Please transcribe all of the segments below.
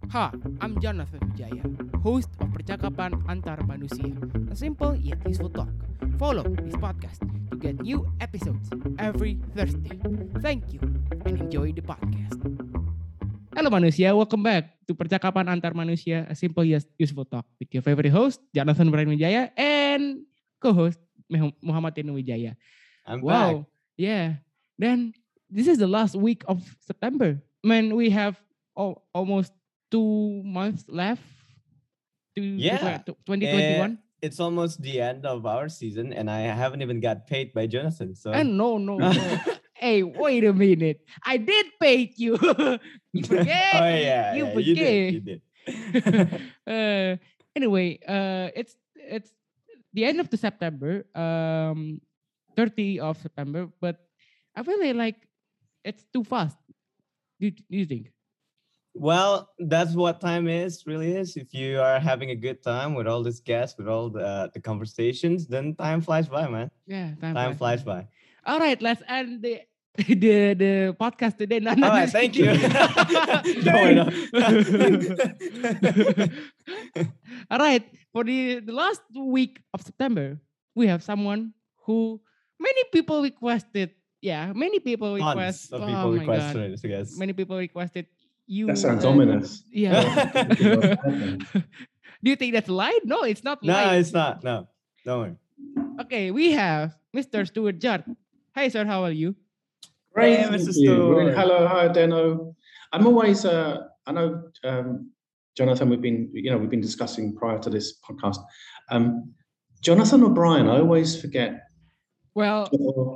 Ha, I'm Jonathan Wijaya, host of Percakapan Antar Manusia, a simple yet useful talk. Follow this podcast to get new episodes every Thursday. Thank you and enjoy the podcast. Hello manusia, welcome back to Percakapan Antar Manusia, a simple yet useful talk with your favorite host, Jonathan Brian Wijaya, and co-host Muhammad Tenu Wijaya. I'm back. Yeah. Then this is the last week of September. Man, we have almost 2 months left to Yeah. 2021. It's almost the end of our season, and I haven't even got paid by Jonathan. So And no. Hey, wait a minute. I did pay you. You forget. Oh yeah, You you forget. did. Anyway, it's the end of the September, 30 of September, but I feel like it's too fast. Do you think? Well, that's what time really is. If you are having a good time with all these guests, with all the conversations, then time flies by, man. Yeah, Time flies by. All right, let's end the podcast today. All right, thank you. All right, for the last week of September, we have someone who many people requested. Yeah, many people request. Tons of people requested it, I guess. Many people requested you. That sounds ominous. Yeah. Do you think that's light? No, it's not light. No, it's not. No, don't worry. Okay, we have Mr. Stuart Judd. Hi, sir. How are you? Great, Hey, thank Mr. you. Stuart. Hello, hi, Deno. I'm always. I know, Jonathan. We've been discussing prior to this podcast. Jonathan or Brian? I always forget. Well,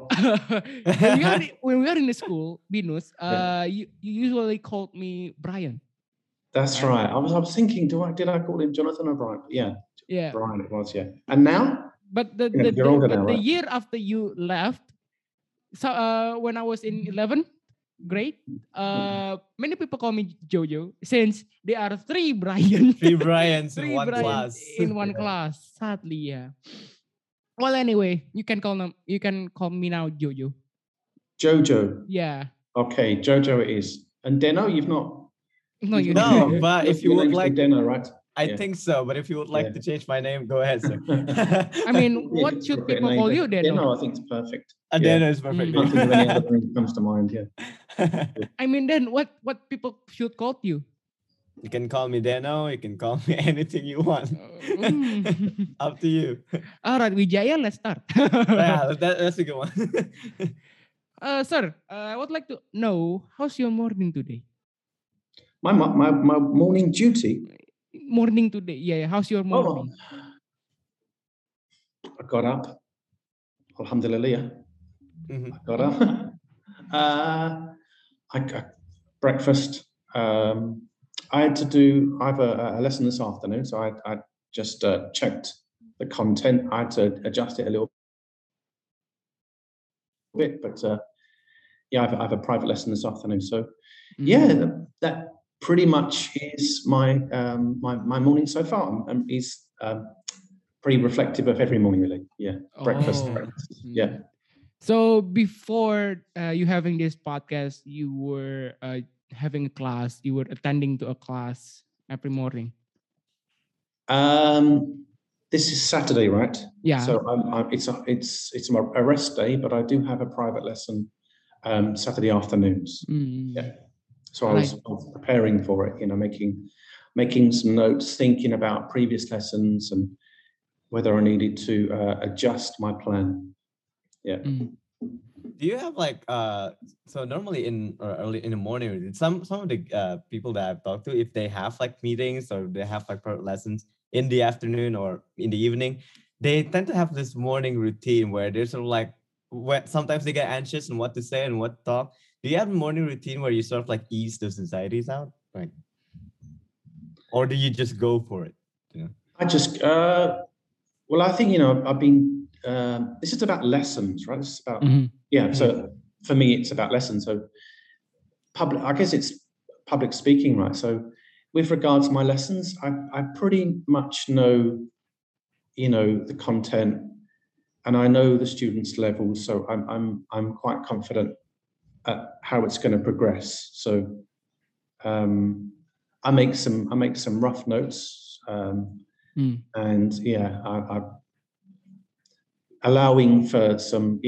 when we are in the school, Binus, you usually called me Brian. That's right. I was thinking, did I call him Jonathan or Brian? Yeah. Brian it was. Yeah. And now? But you're older now, the right? year after you left, so when I was in 11th grade, many people call me Jojo since there are 3 Brian. 3 Brians in one Brians class. in one class. Sadly, yeah. Well, anyway, you can call me now Jojo. Jojo. Yeah. Okay, Jojo it is. And Deno, you've not. No, you No, but if you would like Deno, right? I think so, but if you would like to change my name, go ahead, sir. I mean, what should people call you, Deno? Deno, I think it's perfect. Deno is perfect. I can't think of any other thing that comes to mind. Yeah. I mean, then what people should call you? You can call me Deno. You can call me anything you want. Up to you. All right, Wijaya, let's start. Yeah, that's a good one. Sir, I would like to know, how's your morning today? My morning duty. Morning today, yeah. How's your morning? I got up. Alhamdulillah. Mm-hmm. I got up. I got breakfast. I had to I have a lesson this afternoon, so I just checked the content. I had to adjust it a little bit, but I have a private lesson this afternoon. So that pretty much is my my morning so far, and is pretty reflective of every morning, really. Yeah, breakfast. Yeah. So before you having this podcast, you were having a class. You were attending to a class every morning. This is Saturday, right? Yeah. So it's a rest day, but I do have a private lesson Saturday afternoons. Yeah. So I was preparing for it, making some notes, thinking about previous lessons and whether I needed to adjust my plan. Yeah. Do you have so normally early in the morning, some of the people that I've talked to, if they have meetings or they have private lessons in the afternoon or in the evening, they tend to have this morning routine where they're sort of when sometimes they get anxious and what to say and what to talk. Do you have a morning routine where you sort of ease those anxieties out? Or do you just go for it? I just, well, I think, I've been, this is about lessons, right? This is about, so for me, it's about lessons. So I guess it's public speaking, right? So with regards to my lessons, I pretty much know, the content and I know the students' levels. So I'm quite confident at how it's going to progress. So I make some rough notes, and yeah, I allowing for some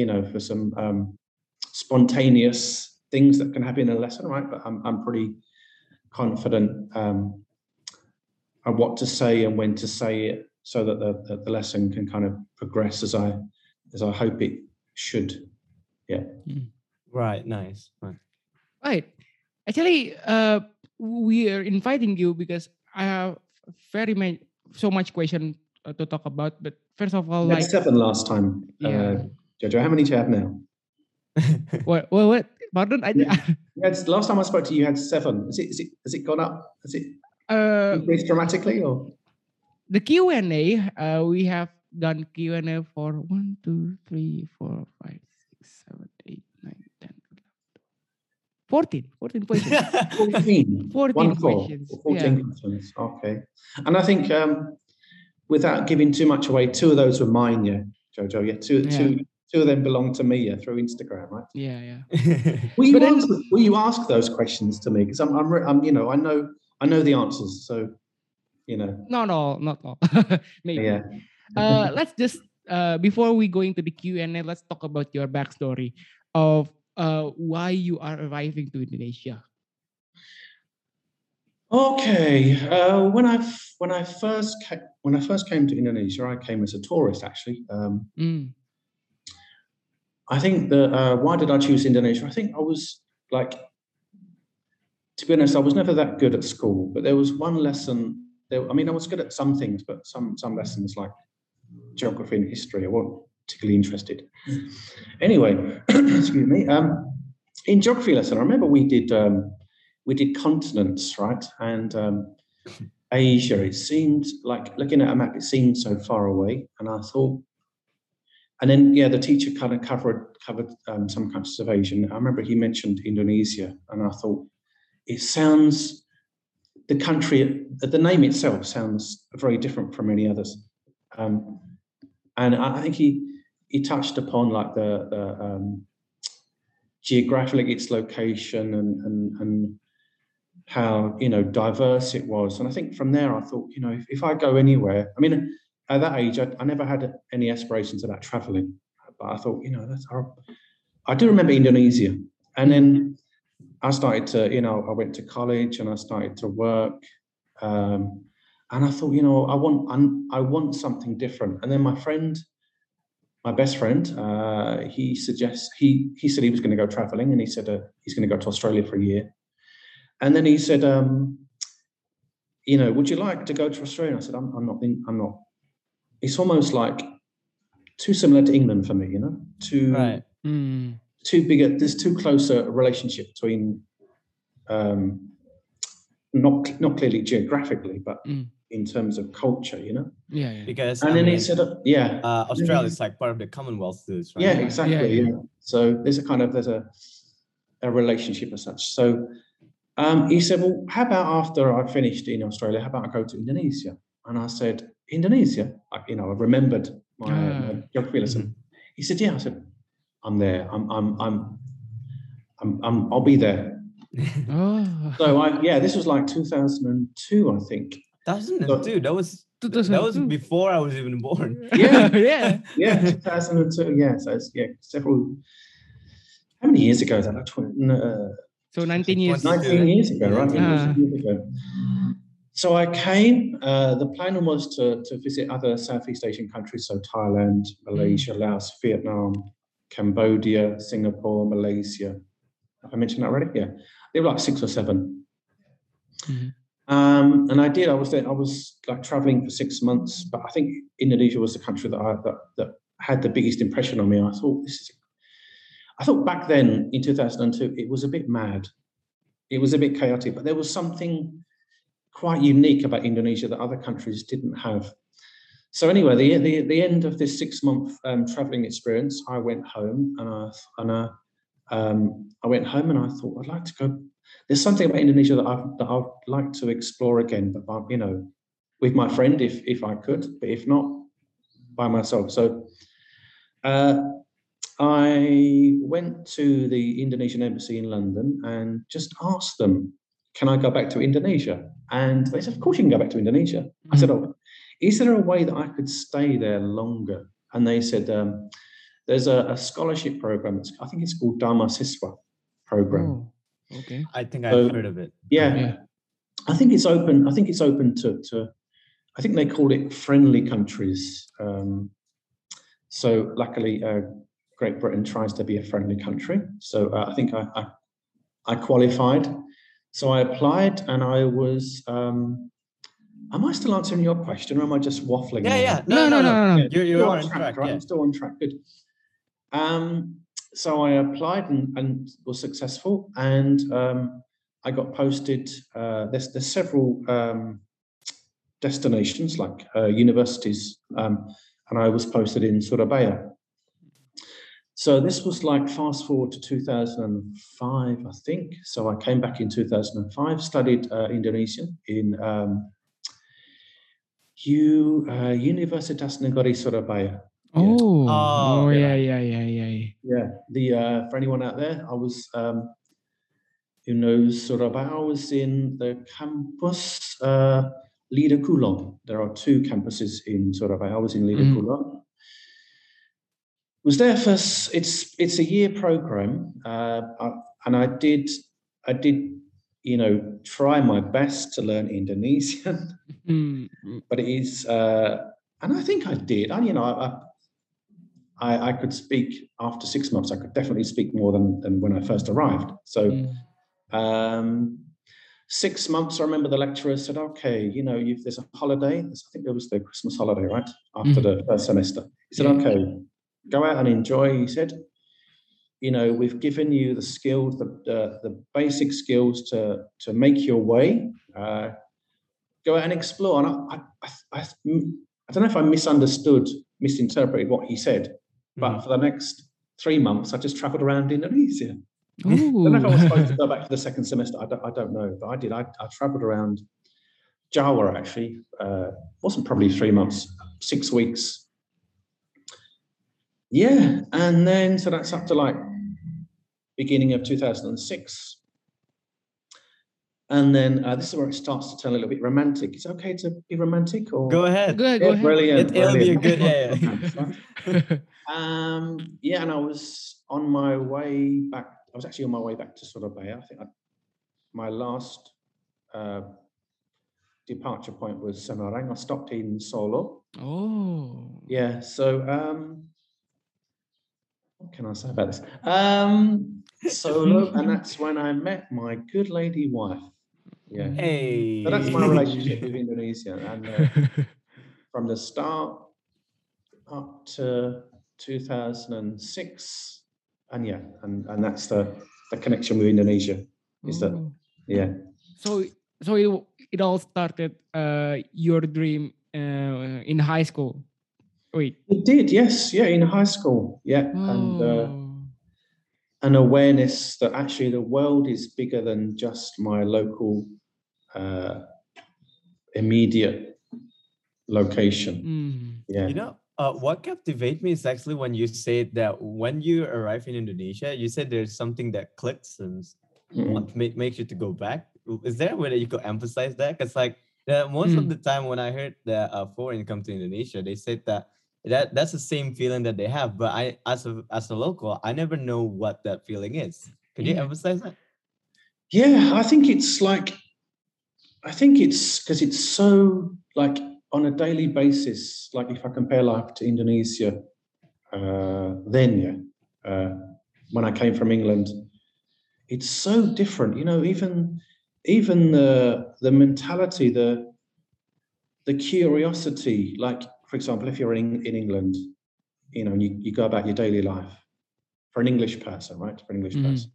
spontaneous things that can happen in a lesson, right? But I'm pretty confident on what to say and when to say it, so that the lesson can kind of progress as I hope it should. Yeah. Right. Nice. Right. Actually, we are inviting you because I have so much question to talk about. But first of all, You had 7 last time. Yeah. Jojo, how many do you have now? What? Pardon? Last time I spoke to you, you had 7. Has it gone up? Has it increased dramatically, or? The Q&A, we have done Q&A for 1, 2, 3, 4, 5, 6, 7, 8, 9, 10, 14 questions. 14 questions. 14 questions. Okay. And I think, without giving too much away, 2 of those were mine, yeah, Jojo. Yeah, two of them belong to me, yeah, through Instagram, right? Yeah. Will you ask those questions to me? Because I'm I know the answers, so No, not all. Maybe. Yeah. Let's just before we go into the Q&A, let's talk about your backstory of why you are arriving to Indonesia. Okay. When I first came to Indonesia, I came as a tourist, actually. I think that why did I choose Indonesia? I think I was to be honest, I was never that good at school, but there was one lesson. I was good at some things, but some lessons like geography and history, I wasn't particularly interested. Anyway, excuse me. In geography lesson, I remember we did continents, right? And Asia, it seemed like, looking at a map, it seemed so far away, and I thought. And then, the teacher kind of covered some countries of Asia. I remember he mentioned Indonesia, and I thought, it sounds, the name itself sounds very different from any others. And I think he touched upon like the geographically its location and how diverse it was. And I think from there I thought, if I go anywhere, at that age, I never had any aspirations about traveling, but I thought, I do remember Indonesia. And then I started to, I went to college and I started to work. And I thought, I want something different. And then my best friend, he said he was going to go traveling, and he said he's going to go to Australia for a year. And then he said, would you like to go to Australia? And I said, I'm not. It's almost like too similar to England for me, Right. Too big. There's too close a relationship between, not clearly geographically, but in terms of culture, Yeah. Because and then he said, Australia is like part of the Commonwealth too, right? Yeah, exactly. Yeah. So there's a relationship as such. So he said, well, how about after I finished in Australia, how about I go to Indonesia? And I said, Indonesia? I remembered my geography lesson. He said, yeah. I said, I'm there. I'll be there. Oh. So this was like 2002, I think. 2002. That was before I was even born. Yeah. 2002. Yeah. So it's several. How many years ago is that? So 19 years. 19 years ago, right? 19 years ago. So I came. The plan was to visit other Southeast Asian countries, so Thailand, Malaysia, Laos, Vietnam, Cambodia, Singapore, Malaysia. Have I mentioned that already? Yeah, there were like 6 or 7. And I did. I was there. I was like traveling for 6 months, but I think Indonesia was the country that had the biggest impression on me. I thought back then in 2002, it was a bit mad. It was a bit chaotic, but there was something quite unique about Indonesia that other countries didn't have. So anyway, the end of this 6-month traveling experience, I went home and I went home and I thought, I'd like to go. There's something about Indonesia that I'd like to explore again, but with my friend if I could, but if not, by myself. So I went to the Indonesian embassy in London and just asked them, can I go back to Indonesia? And they said, of course you can go back to Indonesia. I said, oh, is there a way that I could stay there longer? And they said, there's a scholarship program. I think it's called Dharma Siswa program. Oh, okay. I think I've heard of it. Yeah. I think it's open. I think it's open to I think they call it friendly countries. So luckily, Great Britain tries to be a friendly country. So I think I qualified. So I applied, and I was. Am I still answering your question, or am I just waffling? Yeah. No. You're on track, right? Yeah. I'm still on track. Good. So I applied and was successful, and I got posted. There's several destinations like universities, and I was posted in Surabaya. So this was like fast forward to 2005, I think. So I came back in 2005, studied Indonesian in Universitas Negeri Surabaya. Yeah. Yeah. For anyone out there, I was who knows Surabaya, I was in the campus Lida Kulon. There are two campuses in Surabaya. I was in Lida Kulon. Was there for it's a year program, and I did try my best to learn Indonesian, but it is and I think I did. I could speak after 6 months. I could definitely speak more than when I first arrived. So 6 months, I remember the lecturer said, okay, there's a holiday. I think there was the Christmas holiday, right? After the first semester. He said, okay, go out and enjoy. He said, we've given you the skills, the basic skills to make your way. Go out and explore. And I don't know if I misinterpreted what he said, but for the next 3 months, I just traveled around Indonesia. I don't know if I was supposed to go back for the second semester. I don't know, but I did. I traveled around Jawa, actually. Wasn't probably 3 months, 6 weeks. Yeah, and then, so that's up to like beginning of 2006. And then this is where it starts to turn a little bit romantic. Is it okay to be romantic? Or Go ahead. Go ahead. Brilliant. It'll be a good, and I was on my way back. I was actually on my way back to Surabaya. I think my last departure point was Semarang. I stopped in Solo. Oh. Yeah. So what can I say about this? Solo, and that's when I met my good lady wife. Yeah. Hey. So that's my relationship with Indonesia, and from the start up to 2006, and that's the connection with Indonesia. Is that So it all started your dream in high school. Wait. It did, yes, yeah, in high school, yeah, and an awareness that actually the world is bigger than just my local immediate location. Yeah. What captivates me is actually when you said that when you arrive in Indonesia, you said there's something that clicks and what makes you to go back. Is there a way that you could emphasize that? Because like most of the time when I heard that foreign come to Indonesia, they said that's the same feeling that they have. But I, as a local, I never know what that feeling is. Could you emphasize that? Yeah, I think it's because it's so like on a daily basis. Like if I compare life to Indonesia, when I came from England, it's so different. Even the mentality, the curiosity. Like for example, if you're in England, and you go about your daily life. For an English person, right? For an English person,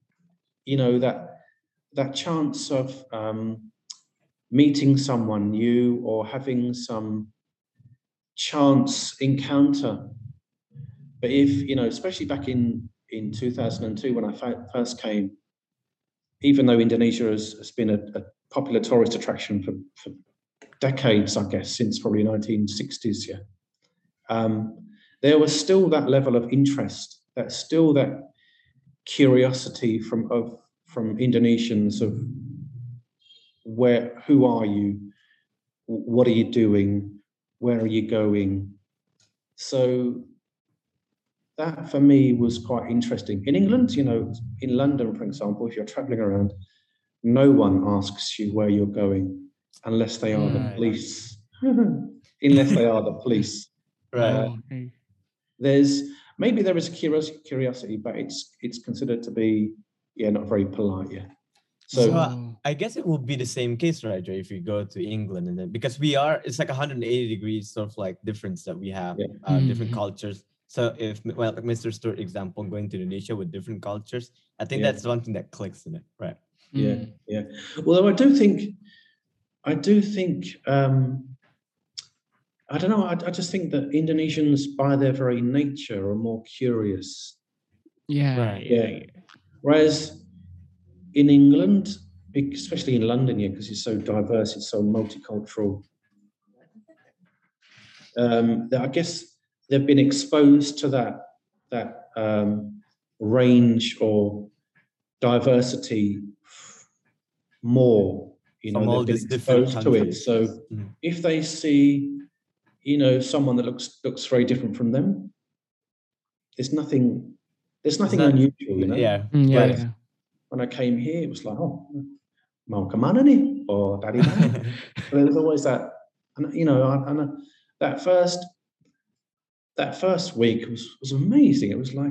that chance of meeting someone new or having some chance encounter. But if, especially back in 2002 when I first came, even though Indonesia has been a popular tourist attraction for decades, I guess, since probably 1960s, there was still that level of interest, that curiosity from Indonesians of who are you? What are you doing? Where are you going? So that for me was quite interesting. In England, in London, for example, if you're traveling around, no one asks you where you're going unless they are the police. Unless they are the police. Right. There is curiosity, but it's considered to be not very polite. Yeah. So I guess it will be the same case, right, Joe, if you go to England, and then because it's like 180 degrees sort of like difference that we have, different cultures. So if, like Mr. Stewart example, going to Indonesia with different cultures, I think that's one thing that clicks in it, right? Yeah, yeah. Although I do think, I don't know. I just think that Indonesians, by their very nature, are more curious. Yeah. Whereas in England, especially in London, because it's so diverse, it's so multicultural. I guess they've been exposed to that range or diversity more. They've been exposed to it. So if they see, someone that looks very different from them, there's nothing unusual. Yeah. When I came here, it was like, oh, mau kemana nih? Or dari mana? But there was always that, and that first week was amazing. It was like,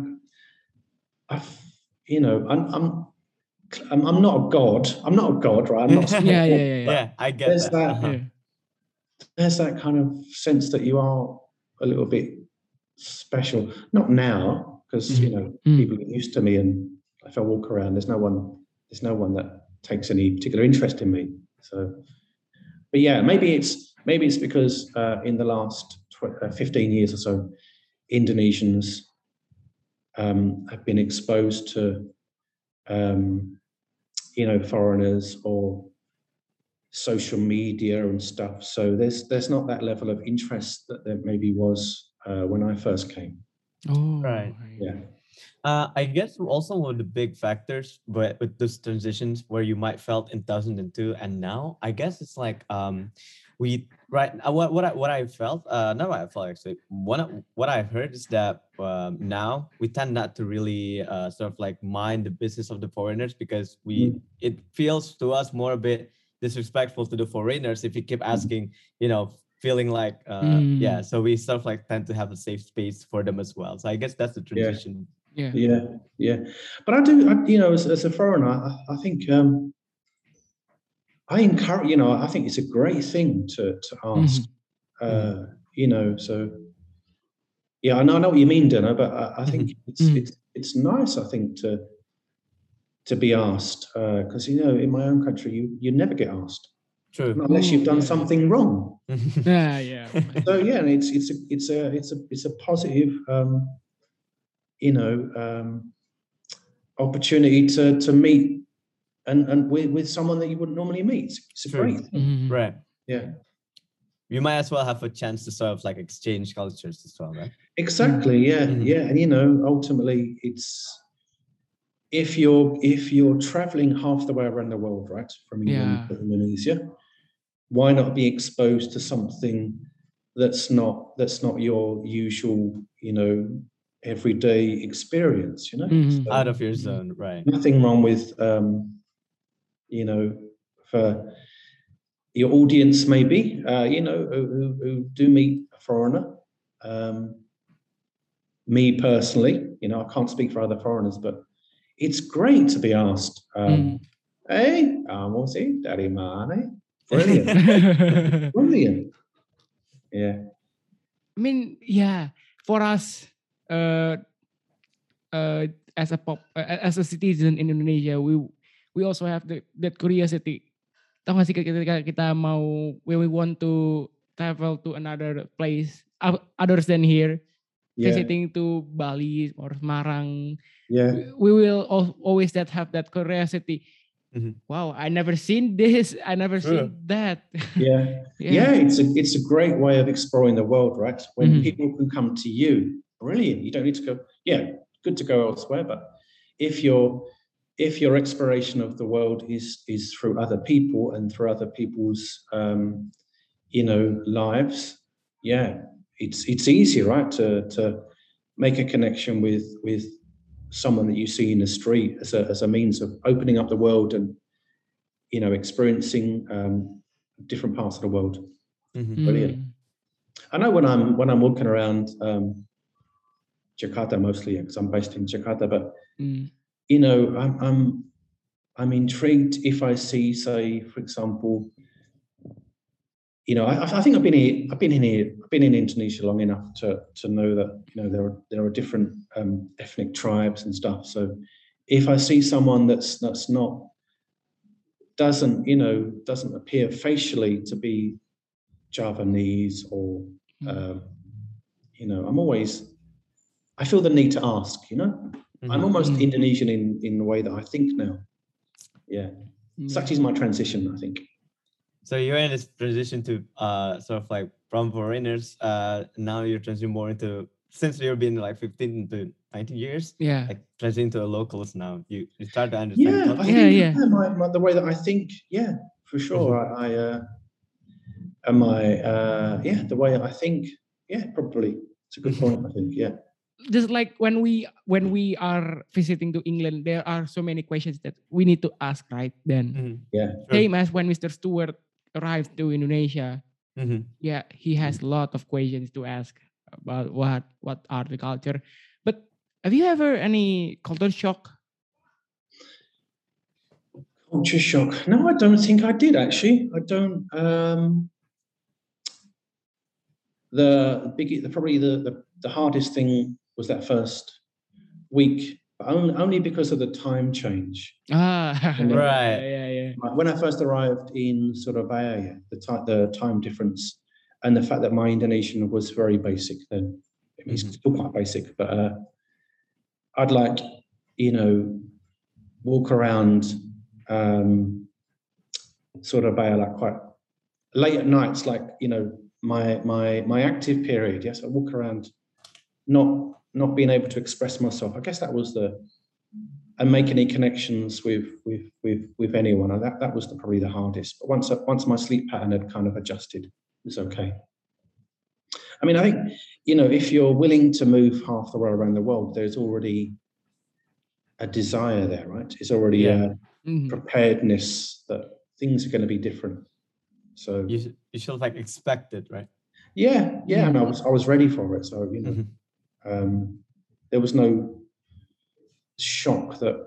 I'm not a god. I'm not a god, right? I'm not. Yeah. I get There's that kind of sense that you are a little bit special. Not now, because people get used to me, and if I walk around, there's no one that takes any particular interest in me. So, but yeah, maybe it's because in the last 15 years or so, Indonesians have been exposed to foreigners or social media and stuff. So there's not that level of interest that there maybe was when I first came. Oh, right. Yeah. I guess also one of the big factors, but with those transitions where you might felt in 2002 and now, I guess it's like what I felt, not what I felt actually. What I heard is that now we tend not to really sort of like mind the business of the foreigners, because it feels to us more a bit disrespectful to the foreigners if you keep asking, feeling like so we sort of like tend to have a safe space for them as well. So I guess that's the transition. Yeah. But I do, as a foreigner, I think I encourage, I think it's a great thing to ask, so yeah, I know what you mean, Dino, but I think it's nice, I think, to be asked, because in my own country you never get asked. True. Not unless you've done something wrong. Yeah. So yeah, and it's a positive opportunity to meet and with someone that you wouldn't normally meet. It's a great thing. Right. Yeah. You might as well have a chance to sort of like exchange cultures as well, right? Exactly. Yeah. And ultimately it's if you're traveling half the way around the world, right, from England to Indonesia, why not be exposed to something that's not your usual, everyday experience, So, out of your zone, right? Nothing wrong with, for your audience, maybe, who do meet a foreigner. Me personally, I can't speak for other foreigners, but it's great to be asked, hey, kamu sih dari mana? Brilliant. Brilliant. Yeah. I mean, for us, as a citizen in Indonesia, we also have that curiosity. Tahu nggak sih ketika kita mau, when we want to travel to another place others than here, visiting to Bali or Semarang, we will always have that curiosity. Wow, I never seen this. I never seen that. Yeah. It's a great way of exploring the world, right? When people can come to you, brilliant. You don't need to go. Yeah, good to go elsewhere. But if you're if your exploration of the world is through other people and through other people's lives, yeah, it's easy, right, to make a connection with someone that you see in the street as a means of opening up the world and experiencing different parts of the world. Brilliant. I know when I'm walking around Jakarta mostly, because I'm based in Jakarta, but I'm intrigued if I see, say, for example, I think I've been in Indonesia long enough to know that there are different ethnic tribes and stuff. So if I see someone that's not doesn't appear facially to be Javanese or I feel the need to ask. I'm almost Indonesian in the way that I think now. Yeah, such is my transition, I think. So you're in this transition to sort of like from foreigners. Now you're transitioning more into, since you've been like 15 to 19 years. Yeah. Like transitioning to locals now. You start to understand. Yeah, culture. I think the way that I think. Yeah, for sure. The way I think. Yeah, probably. It's a good point. I think. Yeah. Just like when we are visiting to England, there are so many questions that we need to ask, right? Then, yeah, same as when Mr. Stewart arrived to Indonesia. Yeah, he has a lot of questions to ask about what are the culture. But have you ever any culture shock? Culture shock? No, I don't think I did actually. I don't. Probably the hardest thing was that first week, but only because of the time change. Right. Yeah. When I first arrived in Surabaya, the time difference and the fact that my Indonesian was very basic then. It's still quite basic, but I'd walk around Surabaya like quite late at nights, my active period. Yes, I walk around not being able to express myself. I guess that was and make any connections with anyone. And that was probably the hardest. But once my sleep pattern had kind of adjusted, it was okay. I mean, I think, if you're willing to move half the way around the world, there's already a desire there, right? It's already a preparedness that things are going to be different. So you should like expect it, right? Yeah, and I was ready for it. So there was no shock that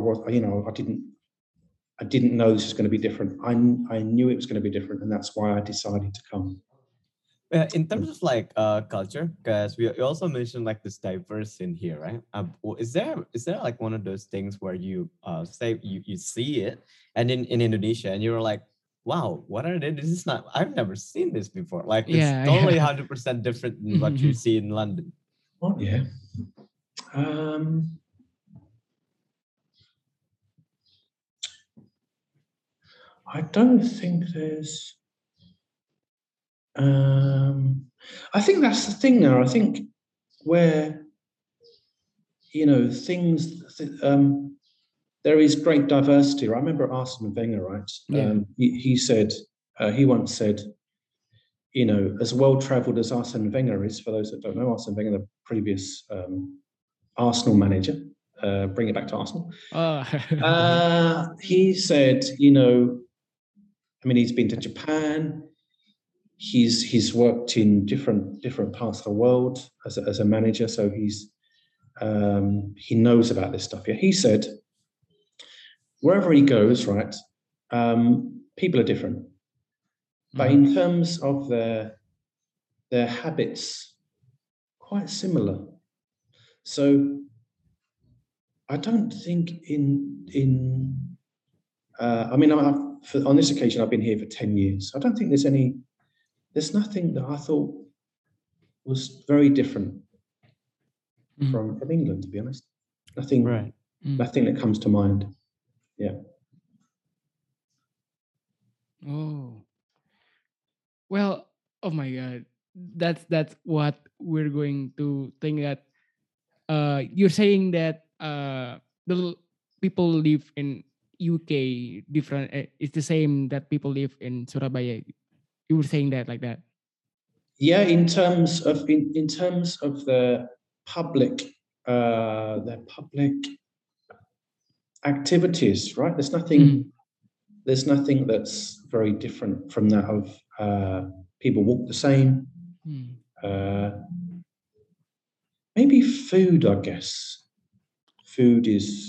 I didn't know this was going to be different. I knew it was going to be different, and that's why I decided to come. In terms of like culture, because we also mentioned like this diverse in here, right? Is there like one of those things where you say you see it, and in Indonesia, and you're like, wow, what are they? This is not. I've never seen this before. Like it's totally 100% different than what you see in London. Oh yeah. I don't think there's. I think that's the thing now. I think where things. There is great diversity. I remember Arsene Wenger, right? He said he once said, as well-travelled as Arsene Wenger is, for those that don't know, Arsene Wenger, the previous Arsenal manager, bring it back to Arsenal. He said, he's been to Japan. He's worked in different parts of the world as a manager, so he knows about this stuff. Yeah, he said, wherever he goes, right, people are different, but in terms of their habits, quite similar. So I don't think on this occasion I've been here for 10 years. I don't think there's nothing that I thought was very different from England, to be honest. Nothing, right. Nothing that comes to mind. Yeah. Oh. Well, oh my God. That's what we're going to think that you're saying that people live in UK different. It's the same that people live in Surabaya. You were saying that like that. Yeah, in terms of the public activities, right? There's nothing that's very different from that of people walk the same. Maybe food, I guess. Food is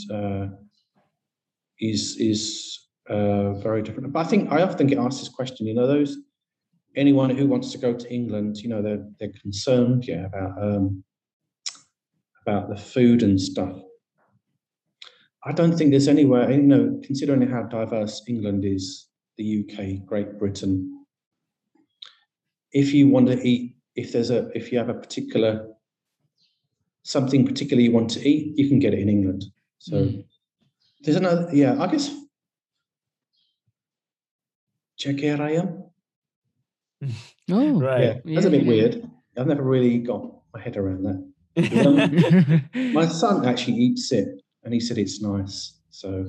very different. But I often get asked this question. Anyone who wants to go to England, they're concerned, about the food and stuff. I don't think there's anywhere, considering how diverse England is, the UK, Great Britain. If you want to eat, if you have something particular you want to eat, you can get it in England. So there's another, I guess, ceker ayam. Oh, right. Yeah, that's a bit weird. I've never really got my head around that. My son actually eats it, and he said it's nice. So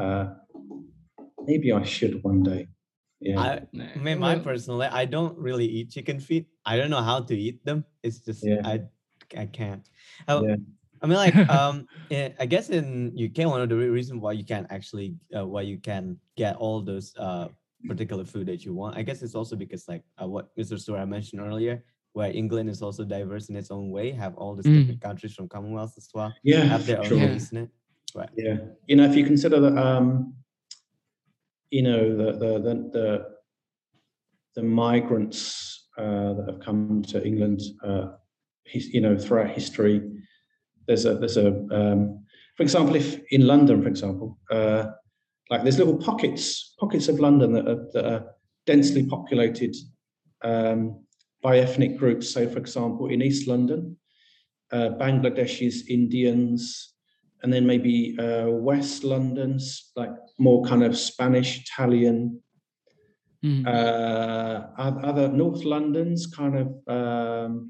maybe I should one day. Yeah. Mine personally, I don't really eat chicken feet. I don't know how to eat them. It's just I can't. I mean, like I guess in UK, one of the reasons why you can actually why you can get all those particular food that you want, I guess it's also because like what Mr. Sura mentioned earlier, where England is also diverse in its own way, have all these different countries from Commonwealth as well, have their own taste in it. Right. Yeah. If you consider that, the migrants that have come to England, throughout history, there's a for example, if in London, for example, like there's little pockets of London that are densely populated by ethnic groups. So, for example, in East London, Bangladeshis, Indians, and then maybe West London's like more kind of Spanish, Italian. Other North London's kind of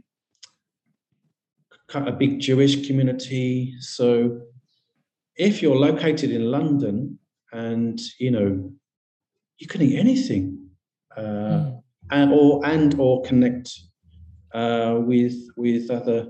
a big Jewish community. So if you're located in London and you can eat anything or connect with other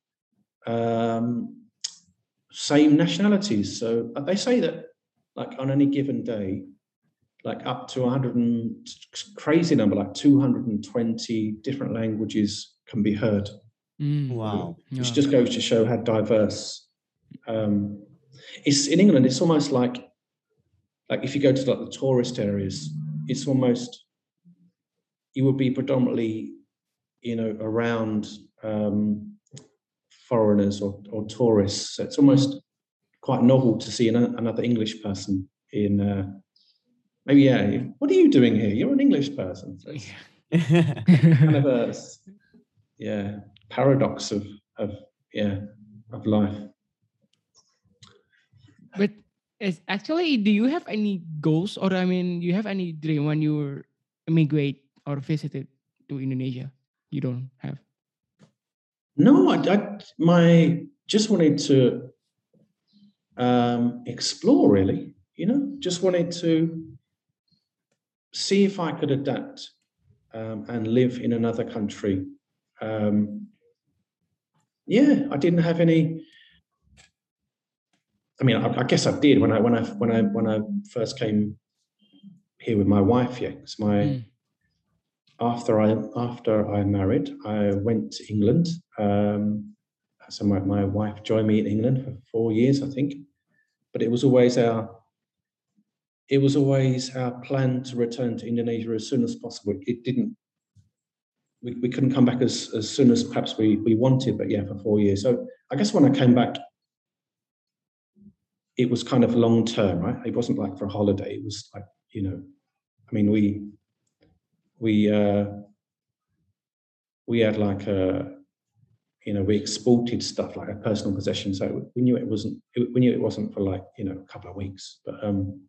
same nationalities. So they say that like on any given day, like up to 100 crazy number, like 220 different languages can be heard. Wow. Which just goes to show how diverse. It's in England, it's almost like if you go to like the tourist areas, it's almost, you would be predominantly, around foreigners or tourists. So it's almost quite novel to see another English person in maybe, what are you doing here? You're an English person. So kind of a paradox of life. But actually, do you have any goals, or you have any dream when you immigrate or visited to Indonesia? You don't have? No, I just wanted to explore, really. Just wanted to see if I could adapt and live in another country. I didn't have any. I mean, I guess I did when I first came here with my wife. Yeah, because after I married, I went to England. So my wife joined me in England for 4 years, I think. But it was always our plan to return to Indonesia as soon as possible. It didn't. We couldn't come back as soon as perhaps we wanted, but for 4 years. So I guess when I came back, it was kind of long term, right? It wasn't like for a holiday. It was like, I mean, we had like we exported stuff like a personal possession. So we knew it wasn't for like, a couple of weeks. But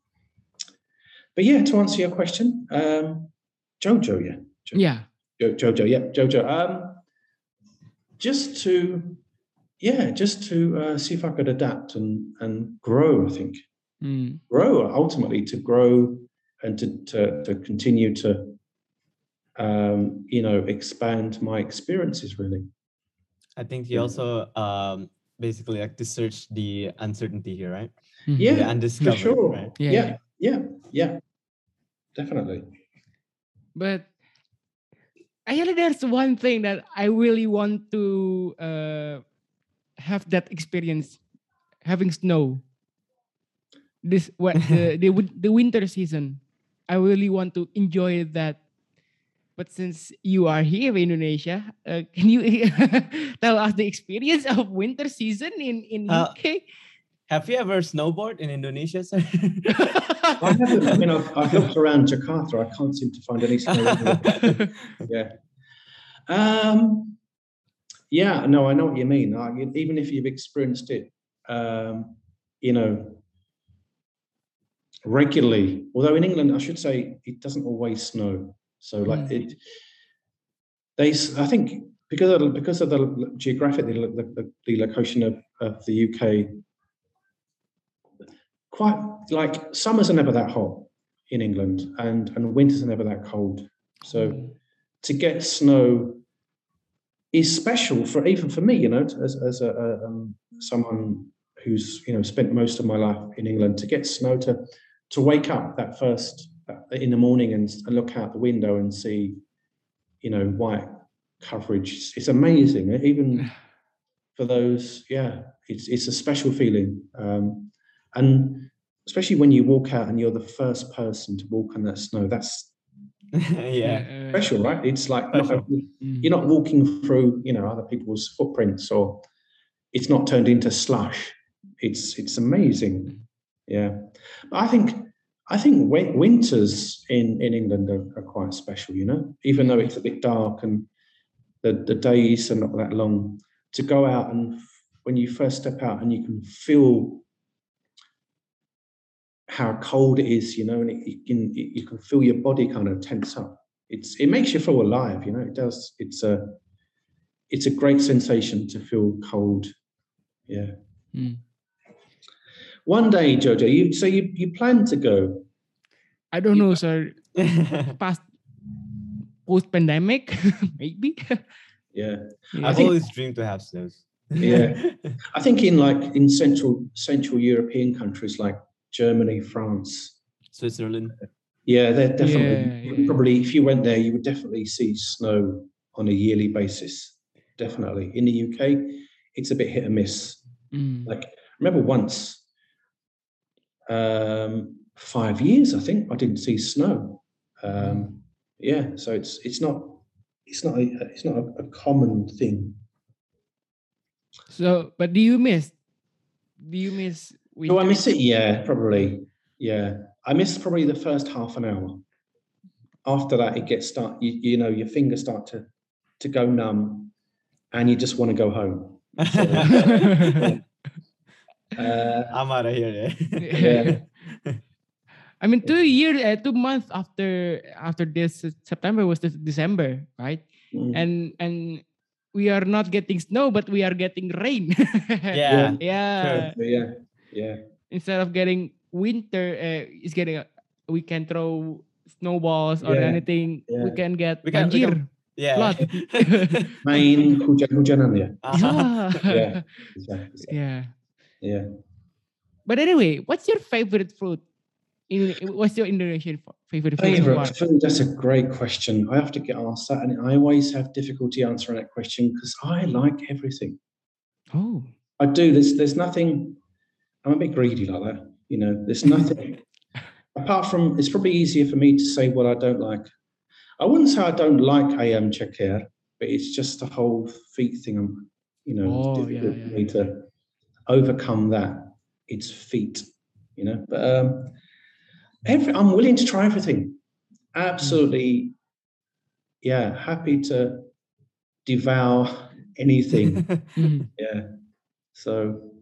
to answer your question, Jojo, Jojo, Jojo. Just to see if I could adapt and grow, I think. grow, ultimately to grow and to continue to expand my experiences, really. I think he also basically like to search the uncertainty here, right? Yeah, the undiscovered, for sure. right? Yeah, definitely. But actually, there's one thing that I really want to have that experience, having snow. The winter season. I really want to enjoy that. But since you are here in Indonesia, can you tell us the experience of winter season in UK? Have you ever snowboard in Indonesia, sir? I haven't. I mean, I've looked around Jakarta. I can't seem to find any snow. Yeah. Yeah. No, I know what you mean. Even if you've experienced it, regularly. Although in England, I should say, it doesn't always snow. So I think because of the geographic, the location of the UK, quite like summers are never that hot in England, and winters are never that cold. So to get snow is special even for me, as someone who's spent most of my life in England. To get snow, to wake up that first in the morning and look out the window and see, white coverage. It's amazing. Even for those, it's a special feeling. And especially when you walk out and you're the first person to walk on that snow, that's special, right? It's like you're not walking through, other people's footprints, or it's not turned into slush. It's amazing. Yeah. But I think winters in England are quite special, even though it's a bit dark and the days are not that long. To go out and when you first step out and you can feel how cold it is, and you can feel your body kind of tense up. It makes you feel alive, it does. It's a great sensation to feel cold. Yeah. One day, Jojo, you plan to go? I don't know, sir. Post-pandemic, maybe. Yeah. I've always dreamed to have snows. Yeah. I think in Central European countries like Germany, France, Switzerland. Yeah, they're definitely probably. If you went there, you would definitely see snow on a yearly basis. Definitely. In the UK, it's a bit hit and miss. Like, I remember once, 5 years, I think, I didn't see snow. Yeah, so it's not a common thing. So, but do you miss? Do I miss it? Yeah, probably. Yeah, I miss probably the first half an hour. After that, it gets your fingers start to go numb, and you just want to go home. So, I'm out of here. Yeah. I mean, 2 months after this September was this December, right? And we are not getting snow, but we are getting rain. Yeah. Instead of getting winter, we can throw snowballs or anything. Yeah. We can get banjir. Flood. Main hujan-hujanan ya. Yeah. But anyway, what's your favorite fruit? What's your Indonesian favorite food? Favorite food? That's a great question. I have to get asked that, and I always have difficulty answering that question because I like everything. Oh, I do. There's nothing. I'm a bit greedy like that. There's nothing apart from. It's probably easier for me to say what I don't like. I wouldn't say I don't like ayam ceker, but it's just the whole feet thing. It's difficult for me to overcome that. It's feet, But I'm willing to try everything. Absolutely, happy to devour anything. Yeah. So,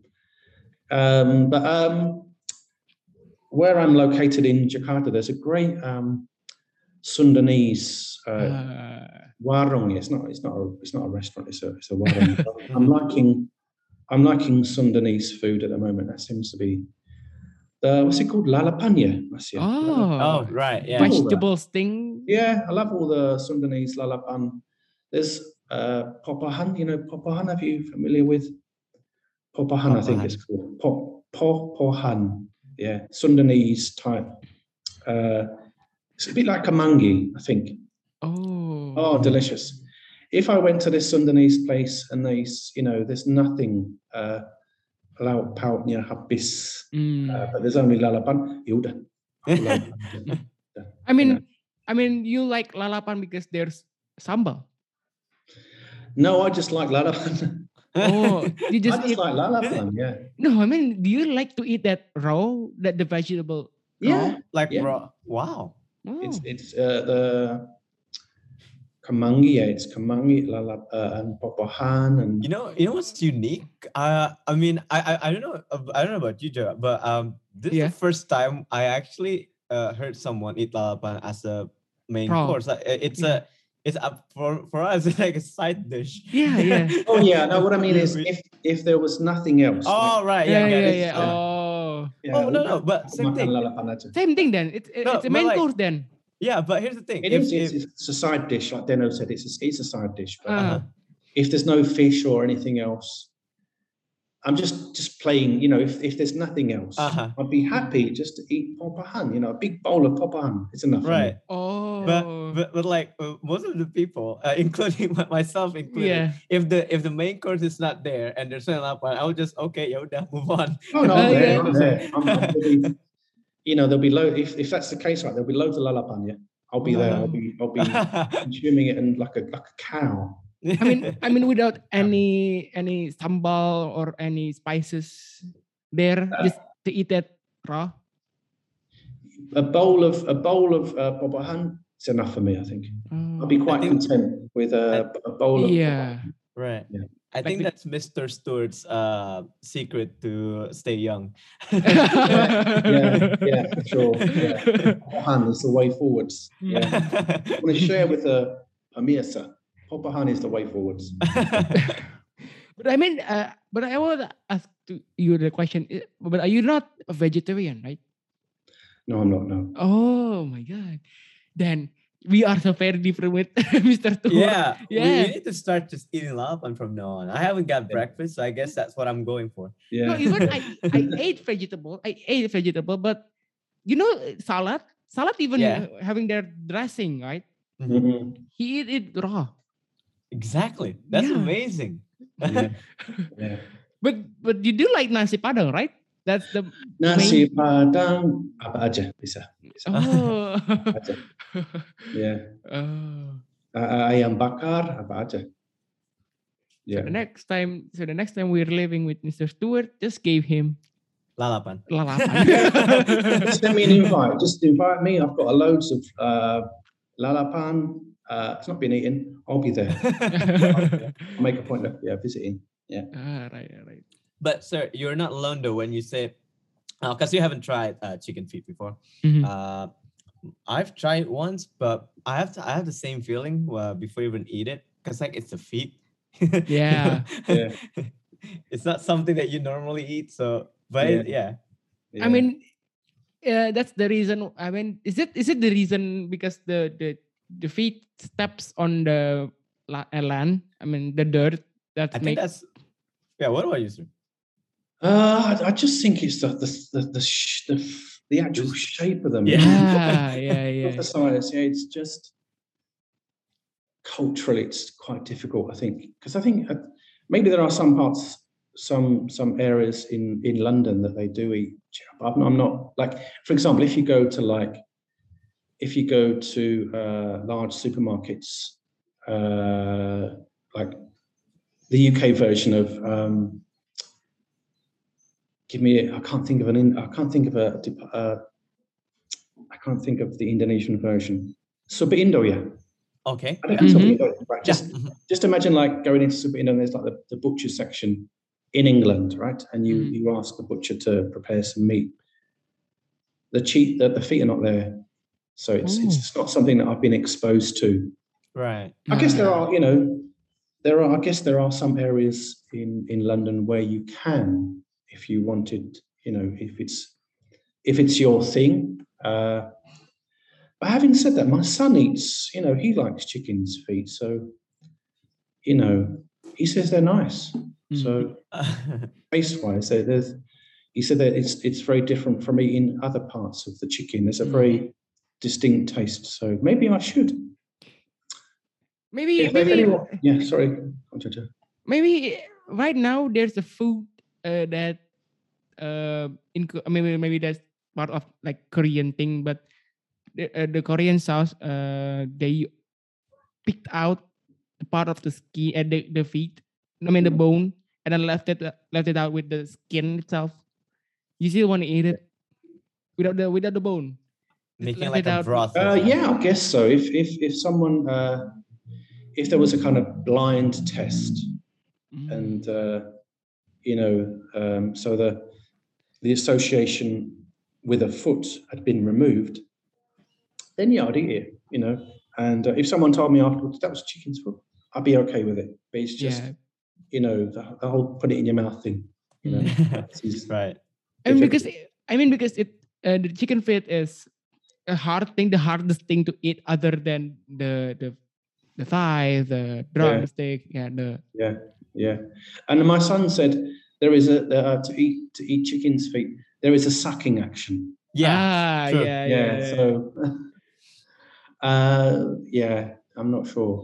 where I'm located in Jakarta, there's a great Sundanese warung. It's not a restaurant. It's a warung. I'm liking Sundanese food at the moment. That seems to be what's it called? Lalapanya, Masya. Oh, right. Yeah. Vegetable sting. Yeah, I love all the Sundanese lalapan. There's popahan. You know popahan? Are you familiar with popahan? I think it's called popahan. Yeah, Sundanese type. It's a bit like kamangi, I think. Oh, delicious. If I went to this Sundanese place and there's nothing lauk pauknya habis, but there's only lalapan, yaudah. I mean, you like lalapan because there's sambal. No, I just like lalapan. Oh, you I just like lalapan. Yeah. No, I mean, do you like to eat that raw, that the vegetable? Yeah, raw. Wow. It's the kamangi. Yeah, it's kamangi, and popahan, and you know what's unique? I mean, I don't know about you, Joe, but this is the first time I actually heard someone eat lalapan as a main course. It's for us. It's like a side dish. Yeah. Oh yeah. No, what I mean is, if there was nothing else. Oh right. Yeah. Oh. Yeah, no. But same thing. Same thing then. It's a main course then. Yeah, but here's the thing. It's a side dish, like Deno said. It's a side dish. But if there's no fish or anything else, I'm just plain. If there's nothing else, I'd be happy just to eat popahan. A big bowl of popahan. It's enough. Right. Oh. But like most of the people, including myself included, if the main course is not there and there's no lalapan, I would just move on. Oh no, I'm there. I'm there'll be if that's the case, right? There'll be loads of lalapan. Yeah, I'll be there. I'll be consuming it and like a cow. I mean, without any sambal or any spices there, just to eat that raw. A bowl of popahan is enough for me. I think I'll be quite content with a bowl of. Yeah. Right. Yeah. I think that's Mr. Stewart's secret to stay young. yeah, for sure. Yeah. Popahan is the way forwards. Yeah. I want to share with Amirsa. Popahan is the way forwards. But I mean, but I want to ask you the question. But are you not a vegetarian, right? No, I'm not. No. Oh my God! Then we are so very different with Mr. Stewart. Yeah. We need to start just eating lalapan from now on. I haven't got breakfast, so I guess that's what I'm going for. Yeah. No, even I ate vegetable. But salad even having their dressing, right? Mm-hmm. He eat it raw. Exactly. That's amazing. Yeah. But you do like nasi padang, right? That's the nasi padang apa aja bisa. Oh. Aja. Yeah. Ayam bakar apa aja. Yeah. So the next time we're living with Mr. Stewart, just gave him lalapan. Just send me an invite. Just invite me. I've got loads of lalapan. It's not been eaten. I'll be there. I'll make a point of visiting. Yeah. Right. But sir, you're not alone though when you say, because you haven't tried chicken feet before. Mm-hmm. I've tried once, but I have the same feeling before you even eat it, because like it's the feet. Yeah. It's not something that you normally eat. So, but yeah. I mean, that's the reason. I mean, is it the reason because the feet steps on the land? I mean, the dirt that I think that's. Yeah. What about you, sir? I just think it's the actual shape of them. Yeah. The size. Yeah, it's just culturally, it's quite difficult. I think because maybe there are some parts, some areas in London that they do eat. But I'm not like, for example, if you go to large supermarkets, like the UK version of. I can't think of the Indonesian version. Super Indo, yeah. Okay. I think Super Indo, right? Just imagine like going into Super Indo and there's like the butcher section in England, right? And you ask the butcher to prepare some meat. The feet are not there. So it's not something that I've been exposed to. Right. I guess there are some areas in London where you can, if you wanted, if it's if it's your thing. But having said that, my son eats, he likes chicken's feet. So, he says they're nice. So taste-wise, he said that it's very different from eating other parts of the chicken. There's a very distinct taste. So maybe I should. Maybe sorry. Maybe right now there's a food that maybe that's part of like Korean thing, but the Korean sauce they picked out the part of the skin and the feet, the bone, and then left it out with the skin itself. You still want to eat it without the bone, making like a broth. Yeah, I guess so. If someone if there was a kind of blind test, and so the association with a foot had been removed, then yeah, I'd eat it. And if someone told me afterwards that was chicken's foot, I'd be okay with it. But it's just the whole put it in your mouth thing. Right. Because it the chicken feet is a hard thing, the hardest thing to eat, other than the thigh, the drumstick, yeah. And my son said there is to eat chicken's feet, there is a sucking action. Yeah. So, I'm not sure.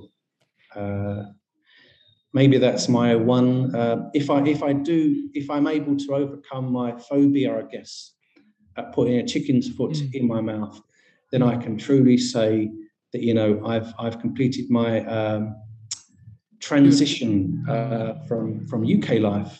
Maybe that's my one. If I'm able to overcome my phobia, I guess, at putting a chicken's foot in my mouth, then I can truly say that I've completed my transition from UK life.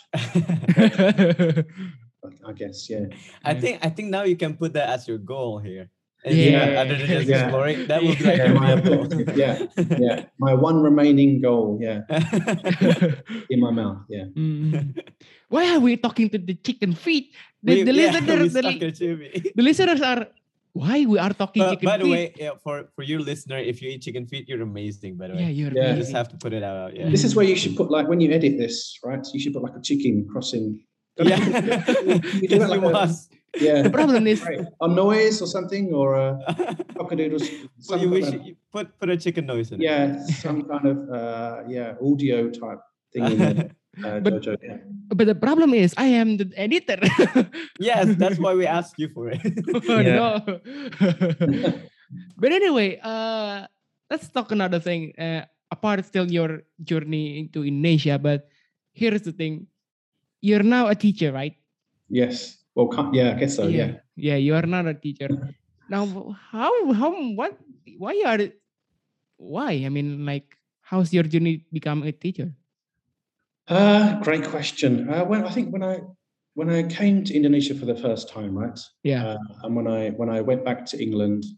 I guess, yeah. I think now you can put that as your goal here. Other than just exploring, that would be like my objective. Yeah. My one remaining goal. Yeah. In my mouth. Yeah. Why are we talking to the chicken feet? The listeners are. Why we are talking chicken feet? By the way, for your listener, if you eat chicken feet, you're amazing. By the way, you're amazing. You just have to put it out. Yeah. This is where you should put, like, when you edit this, right? You should put like a chicken crossing. Yeah. You do that like The problem is a noise or something, or a cockadoodle. So you put a chicken noise in it. Yeah, some kind of audio type thing in there. Jojo, But the problem is, I am the editor. Yes, that's why we asked you for it. No. But anyway, let's talk another thing. Apart still your journey into Indonesia, but here's the thing: you're now a teacher, right? Yes. Well, I guess so. Yeah. Yeah, you are not a teacher now. Why? I mean, like, how's your journey become a teacher? Great question. I think when I came to Indonesia for the first time, right? Yeah. And when I went back to England,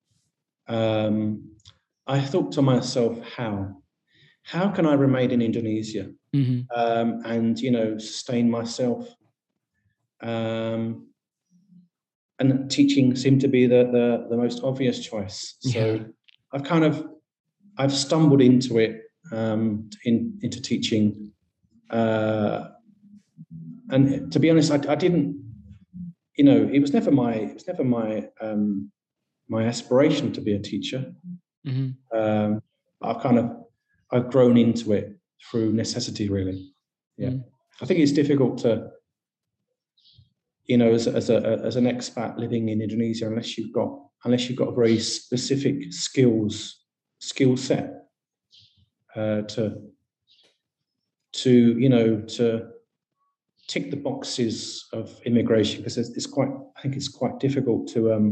I thought to myself, how can I remain in Indonesia and sustain myself? And teaching seemed to be the most obvious choice. So I've stumbled into it, into teaching. And to be honest, I didn't, it was never my my aspiration to be a teacher. I've grown into it through necessity, really. Yeah. I think it's difficult to, as an expat living in Indonesia, unless you've got a very specific skill set to tick the boxes of immigration, because I think it's quite difficult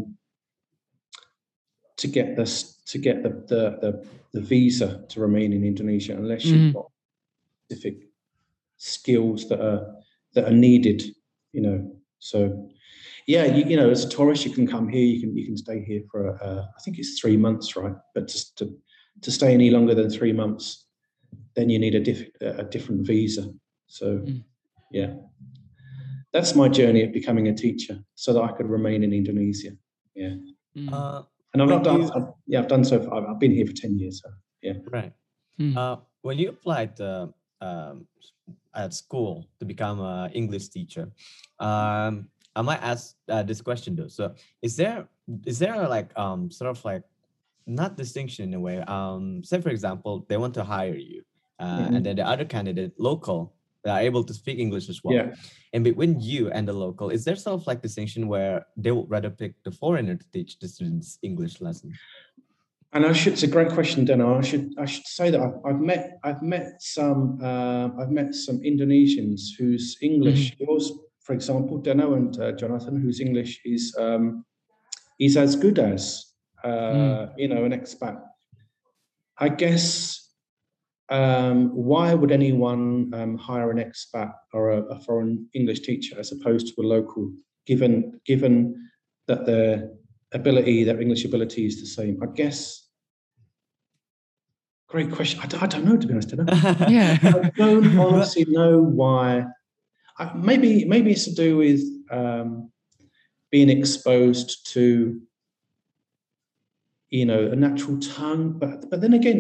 to get the visa to remain in Indonesia unless you've got specific skills that are needed. So yeah, as a tourist, you can come here, you can stay here for I think it's 3 months, right? But just to stay any longer than 3 months, then you need a different visa. So yeah, that's my journey of becoming a teacher, so that I could remain in Indonesia. Yeah. And I've done so far. I've been here for 10 years. So yeah. Right. When you applied at school to become an English teacher, I might ask this question though. So is there like sort of like not distinction in a way? Say for example, they want to hire you, and then the other candidate local, they are able to speak English as well. Yeah. And between you and the local, is there sort of like distinction where they would rather pick the foreigner to teach the students English lesson? And it's a great question, Deno. I should say that I've met some Indonesians whose English, yours, for example, Deno and Jonathan, whose English is as good as an expat. I guess why would anyone hire an expat or a foreign English teacher as opposed to a local, given that their English ability is the same? I guess. Great question. I don't know, to be honest. Yeah. I don't honestly know why. Maybe it's to do with being exposed to, a natural tongue. But then again,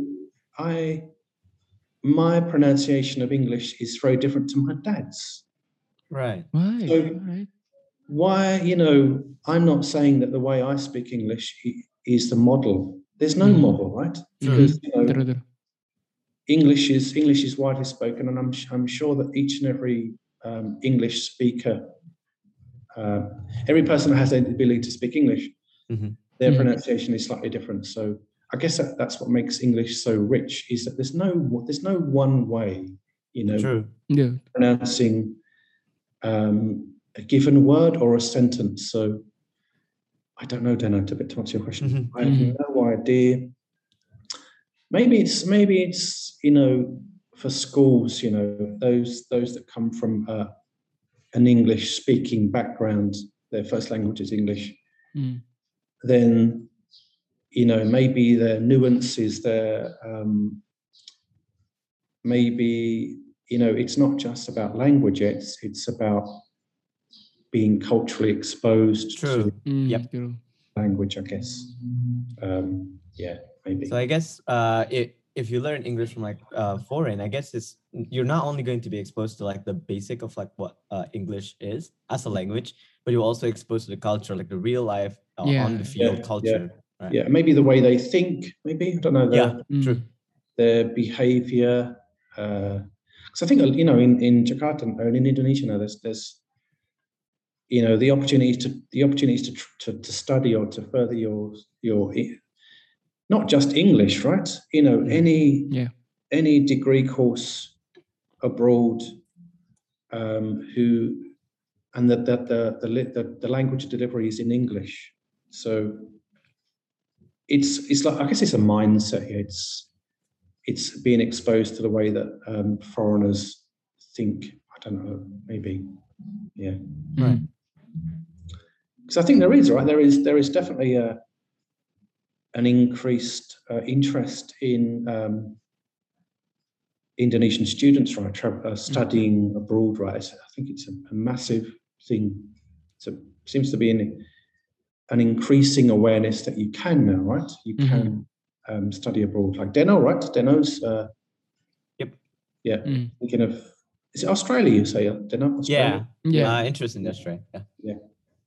my pronunciation of English is very different to my dad's. Right. So why, I'm not saying that the way I speak English is the model. There's no model, right? Because English is widely spoken, and I'm sure that each and every English speaker, every person that has the ability to speak English, their pronunciation is slightly different. So I guess that's what makes English so rich, is that there's no one way, pronouncing a given word or a sentence. So I don't know, Deno, to answer your question. I have no idea. Maybe it's for schools, those that come from an English speaking background, their first language is English. Then maybe their nuances, maybe it's not just about language. It's about being culturally exposed to language, I guess. Maybe. So I guess if you learn English from like foreign, I guess you're not only going to be exposed to like the basic of like what English is as a language, but you're also exposed to the culture, like the real life on the field culture. Right? Yeah, maybe the way they think. Maybe I don't know. True. Their behavior. Because I think in Jakarta and in Indonesia now, there's the opportunities to study or to further your not just English, right? Any degree course abroad, and the language delivery is in English. So it's like, I guess it's a mindset here. It's being exposed to the way that foreigners think. I don't know, maybe, yeah. Right. Because I think there is definitely an increased interest in Indonesian students, right, studying abroad, right? I think it's a massive thing. Seems to be an increasing awareness that you can now, right? You can study abroad, like Deno, right? Deno's. Yep. Yeah. Thinking of, is it Australia? You say, Deno? Australia? Yeah. Interest in Australia. Yeah.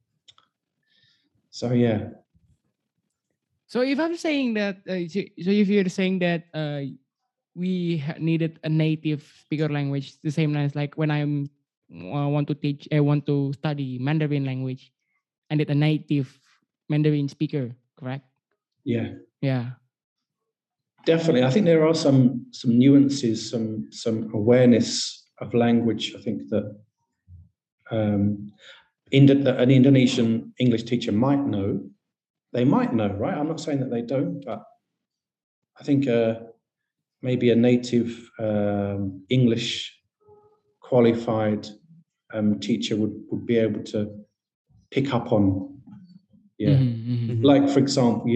So yeah. So if I'm saying that, so if you're saying that we needed a native speaker language, the same as like when I want to study Mandarin language, I need a native Mandarin speaker, correct? Yeah. Yeah. Definitely. I think there are some nuances, some awareness of language. I think that an Indonesian English teacher might know. They might know, right? I'm not saying that they don't, but I think maybe a native English qualified teacher would be able to pick up on, like, for example,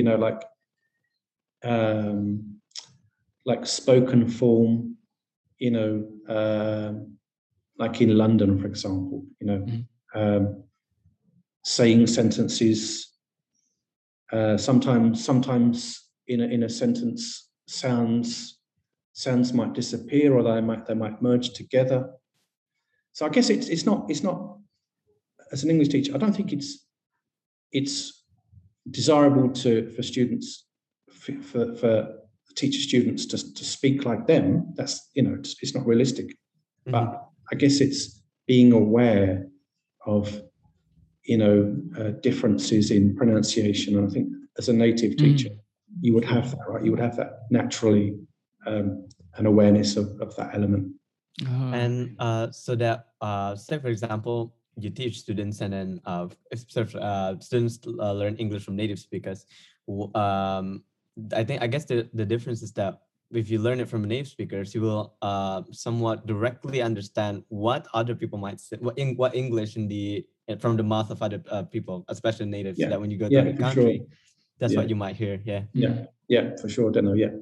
like spoken form, like in London, for example, saying sentences. Sometimes in a sentence, sounds might disappear, or they might merge together. So I guess it's not as an English teacher, I don't think it's desirable for students, for teacher students to speak like them. That's, it's not realistic. But I guess it's being aware of, differences in pronunciation. And I think as a native teacher, you would have that, right? You would have that naturally, an awareness of that element. And so that, say for example, you teach students, and then students learn English from native speakers. I guess the difference is that if you learn it from native speakers, you will somewhat directly understand what other people might say, what English from the mouth of other people, especially natives. So that when you go to the country, that's what you might hear. Yeah, for sure. Don't know. Yeah.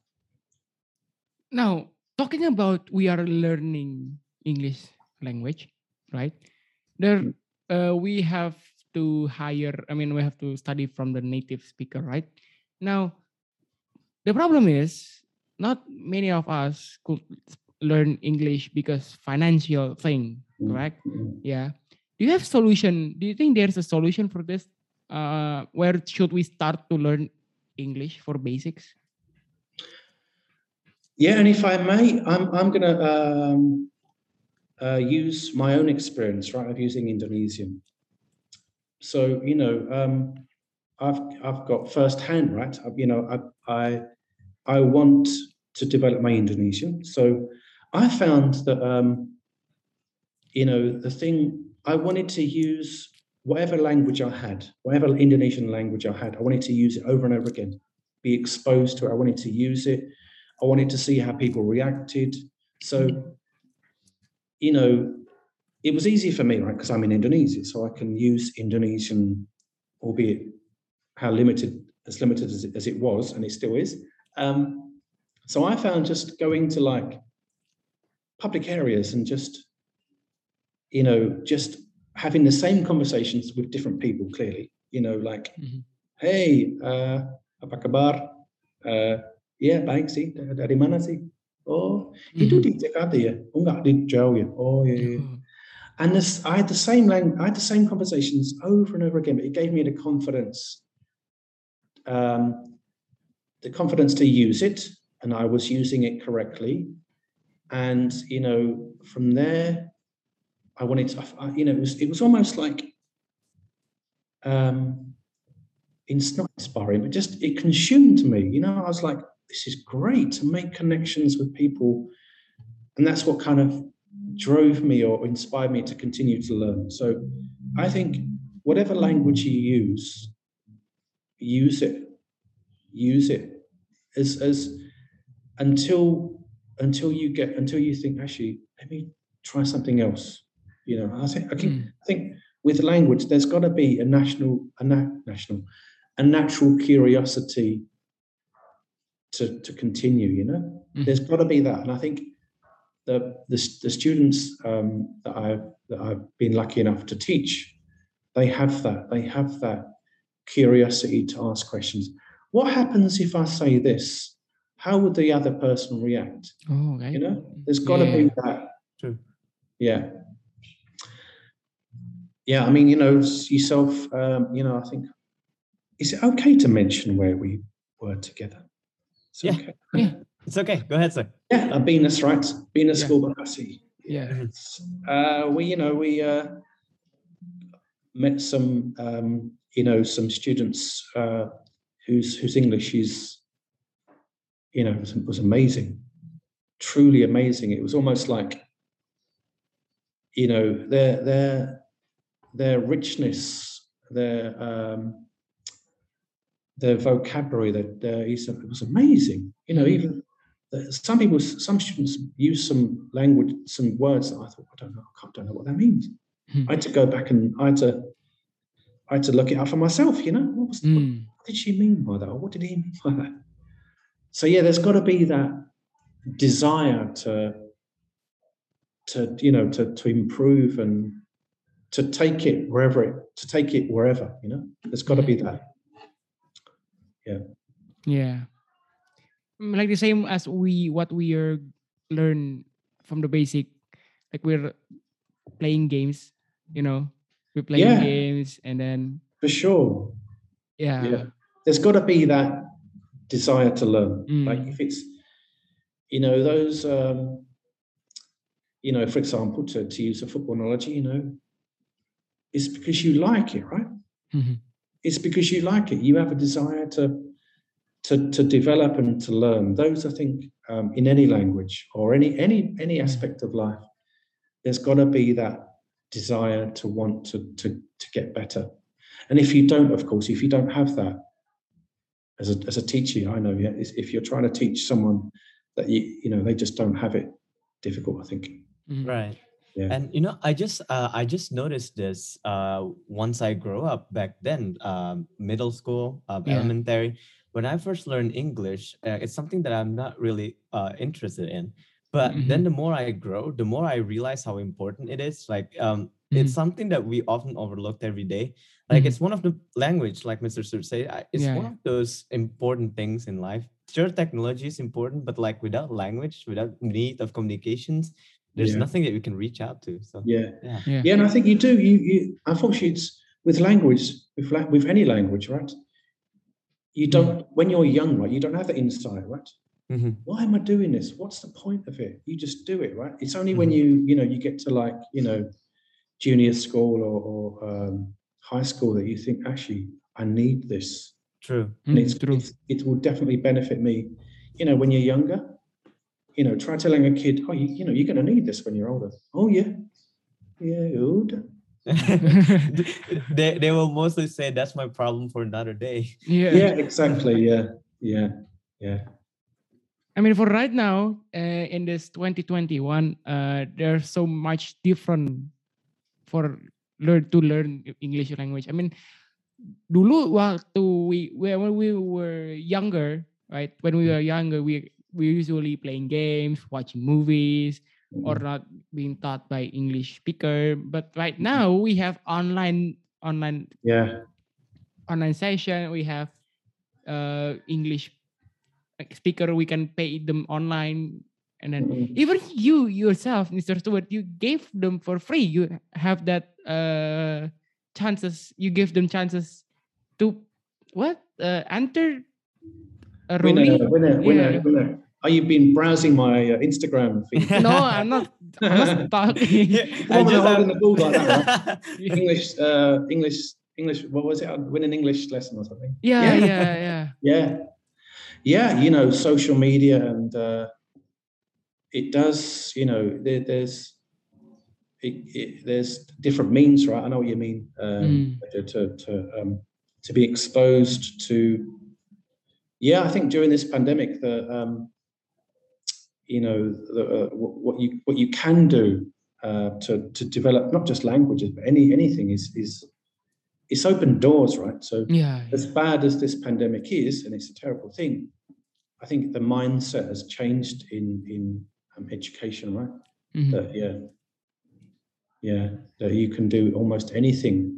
Now, talking about we are learning English language, right? There, we have to we have to study from the native speaker, right? Now, the problem is not many of us could learn English because financial thing, correct? Yeah. Do you have solution? Do you think there's a solution for this? Where should we start to learn English for basics? Yeah, and if I may, I'm going to use my own experience, right, of using Indonesian. So I've got firsthand, right. I want to develop my Indonesian. So I found that the thing I wanted to use, whatever language I had, whatever Indonesian language I had, I wanted to use it over and over again, be exposed to it. I wanted to use it. I wanted to see how people reacted. So, it was easy for me, right? Because I'm in Indonesia, so I can use Indonesian, albeit as limited as it was, and it still is. So I found just going to like public areas and just having the same conversations with different people, clearly, hey, apa kabar? Ya, baik sih. Dari mana sih? Oh, itu di Jakarta ya? Oh, enggak, di Jauh ya? Oh, yeah. And I had the same conversations over and over again, but it gave me the confidence to use it, and I was using it correctly. And, from there, I wanted to, it was almost like, it's not inspiring, but just, it consumed me. I was like, this is great to make connections with people. And that's what kind of drove me or inspired me to continue to learn. So I think whatever language you use it as until you think, actually, let me try something else. I think with language, there's got to be a natural curiosity to continue. There's got to be that, and I think the students that I've been lucky enough to teach, they have that curiosity to ask questions. What happens if I say this? How would the other person react? Oh, okay. There's got to be that. True. Yeah. I mean, yourself. I think, is it okay to mention where we were together? Okay. Yeah. It's okay. Go ahead, sir. Yeah, Venus, right? Venus School Bekasi. Yeah. We met some, some students whose English is, was amazing, truly amazing. It was almost like, their richness, their vocabulary, it was amazing. Even some students use some language, some words that I thought, I don't know what that means. I had to go back and I had to look it up for myself. What did she mean by that? Or what did he mean by that? So yeah, there's got to be that desire to improve and to take it wherever. There's got to be that. Yeah. Like the same as what we are learn from the basic, like we're playing games, we're playing Yeah. games, and then For sure. yeah. There's got to be that desire to learn. Mm. Like if it's, you know, those, you know, for example, to use a football analogy, you know, it's because you like it, right? Mhm. It's because you like it. You have a desire to develop and to learn. Those, I think, in any language or any aspect of life, there's got to be that desire to want to get better. And if you don't, of course, if you don't have that as a teacher, I know, yeah, if you're trying to teach someone that you know they just don't have it, difficult, I think. Mhm. Right. Yeah. And you know, I just noticed this once I grew up back then, middle school, Yeah. elementary. When I first learned English, it's something that I'm not really interested in. But then Mhm. the more I grow, the more I realize how important it is. Like Mhm. it's something that we often overlooked every day. Like Mhm. it's one of the language, like Mr. Sur said, it's Yeah, one yeah. of those important things in life. Sure, technology is important, but like without language, without need of communications, there's Yeah. nothing that you can reach out to. So Yeah. yeah. Yeah. And I think you do. You unfortunately, it's with language, with any language, right? You don't when you're young, right? You don't have the insight, right? Mhm. Why am I doing this? What's the point of it? You just do it, right? It's only when Mhm. you get to like junior school or high school that you think actually I need this, True. and True. it will definitely benefit me. When you're younger, try telling a kid, oh, you're going to need this when you're older. Oh yeah, older. they will mostly say that's my problem for another day. Yeah. Exactly. Yeah. I mean, for right now, in this 2021, there's so much different for learn English language. I mean, dulu waktu when we were younger, right? When we were younger, we usually playing games, watching movies, or not being taught by English speaker. But right now we have online Yeah. session. We have English speaker. We can pay them online, and then even you yourself, Mr. Stewart, you gave them for free. You have that chances. You give them chances to enter a Rooney? Winner. Oh, you've been browsing my Instagram feed. No, I'm not. I'm not talking. The one when I'm holding the ball like that, right? English. What was it? Win an English lesson or something. Yeah. Social media and it does. There's different means, right? I know what you mean. To be exposed to. Yeah, I think during this pandemic, what you can do to develop not just languages but anything is it's opened doors, right? So as bad as this pandemic is, and it's a terrible thing, I think the mindset has changed in education, right? That that you can do almost anything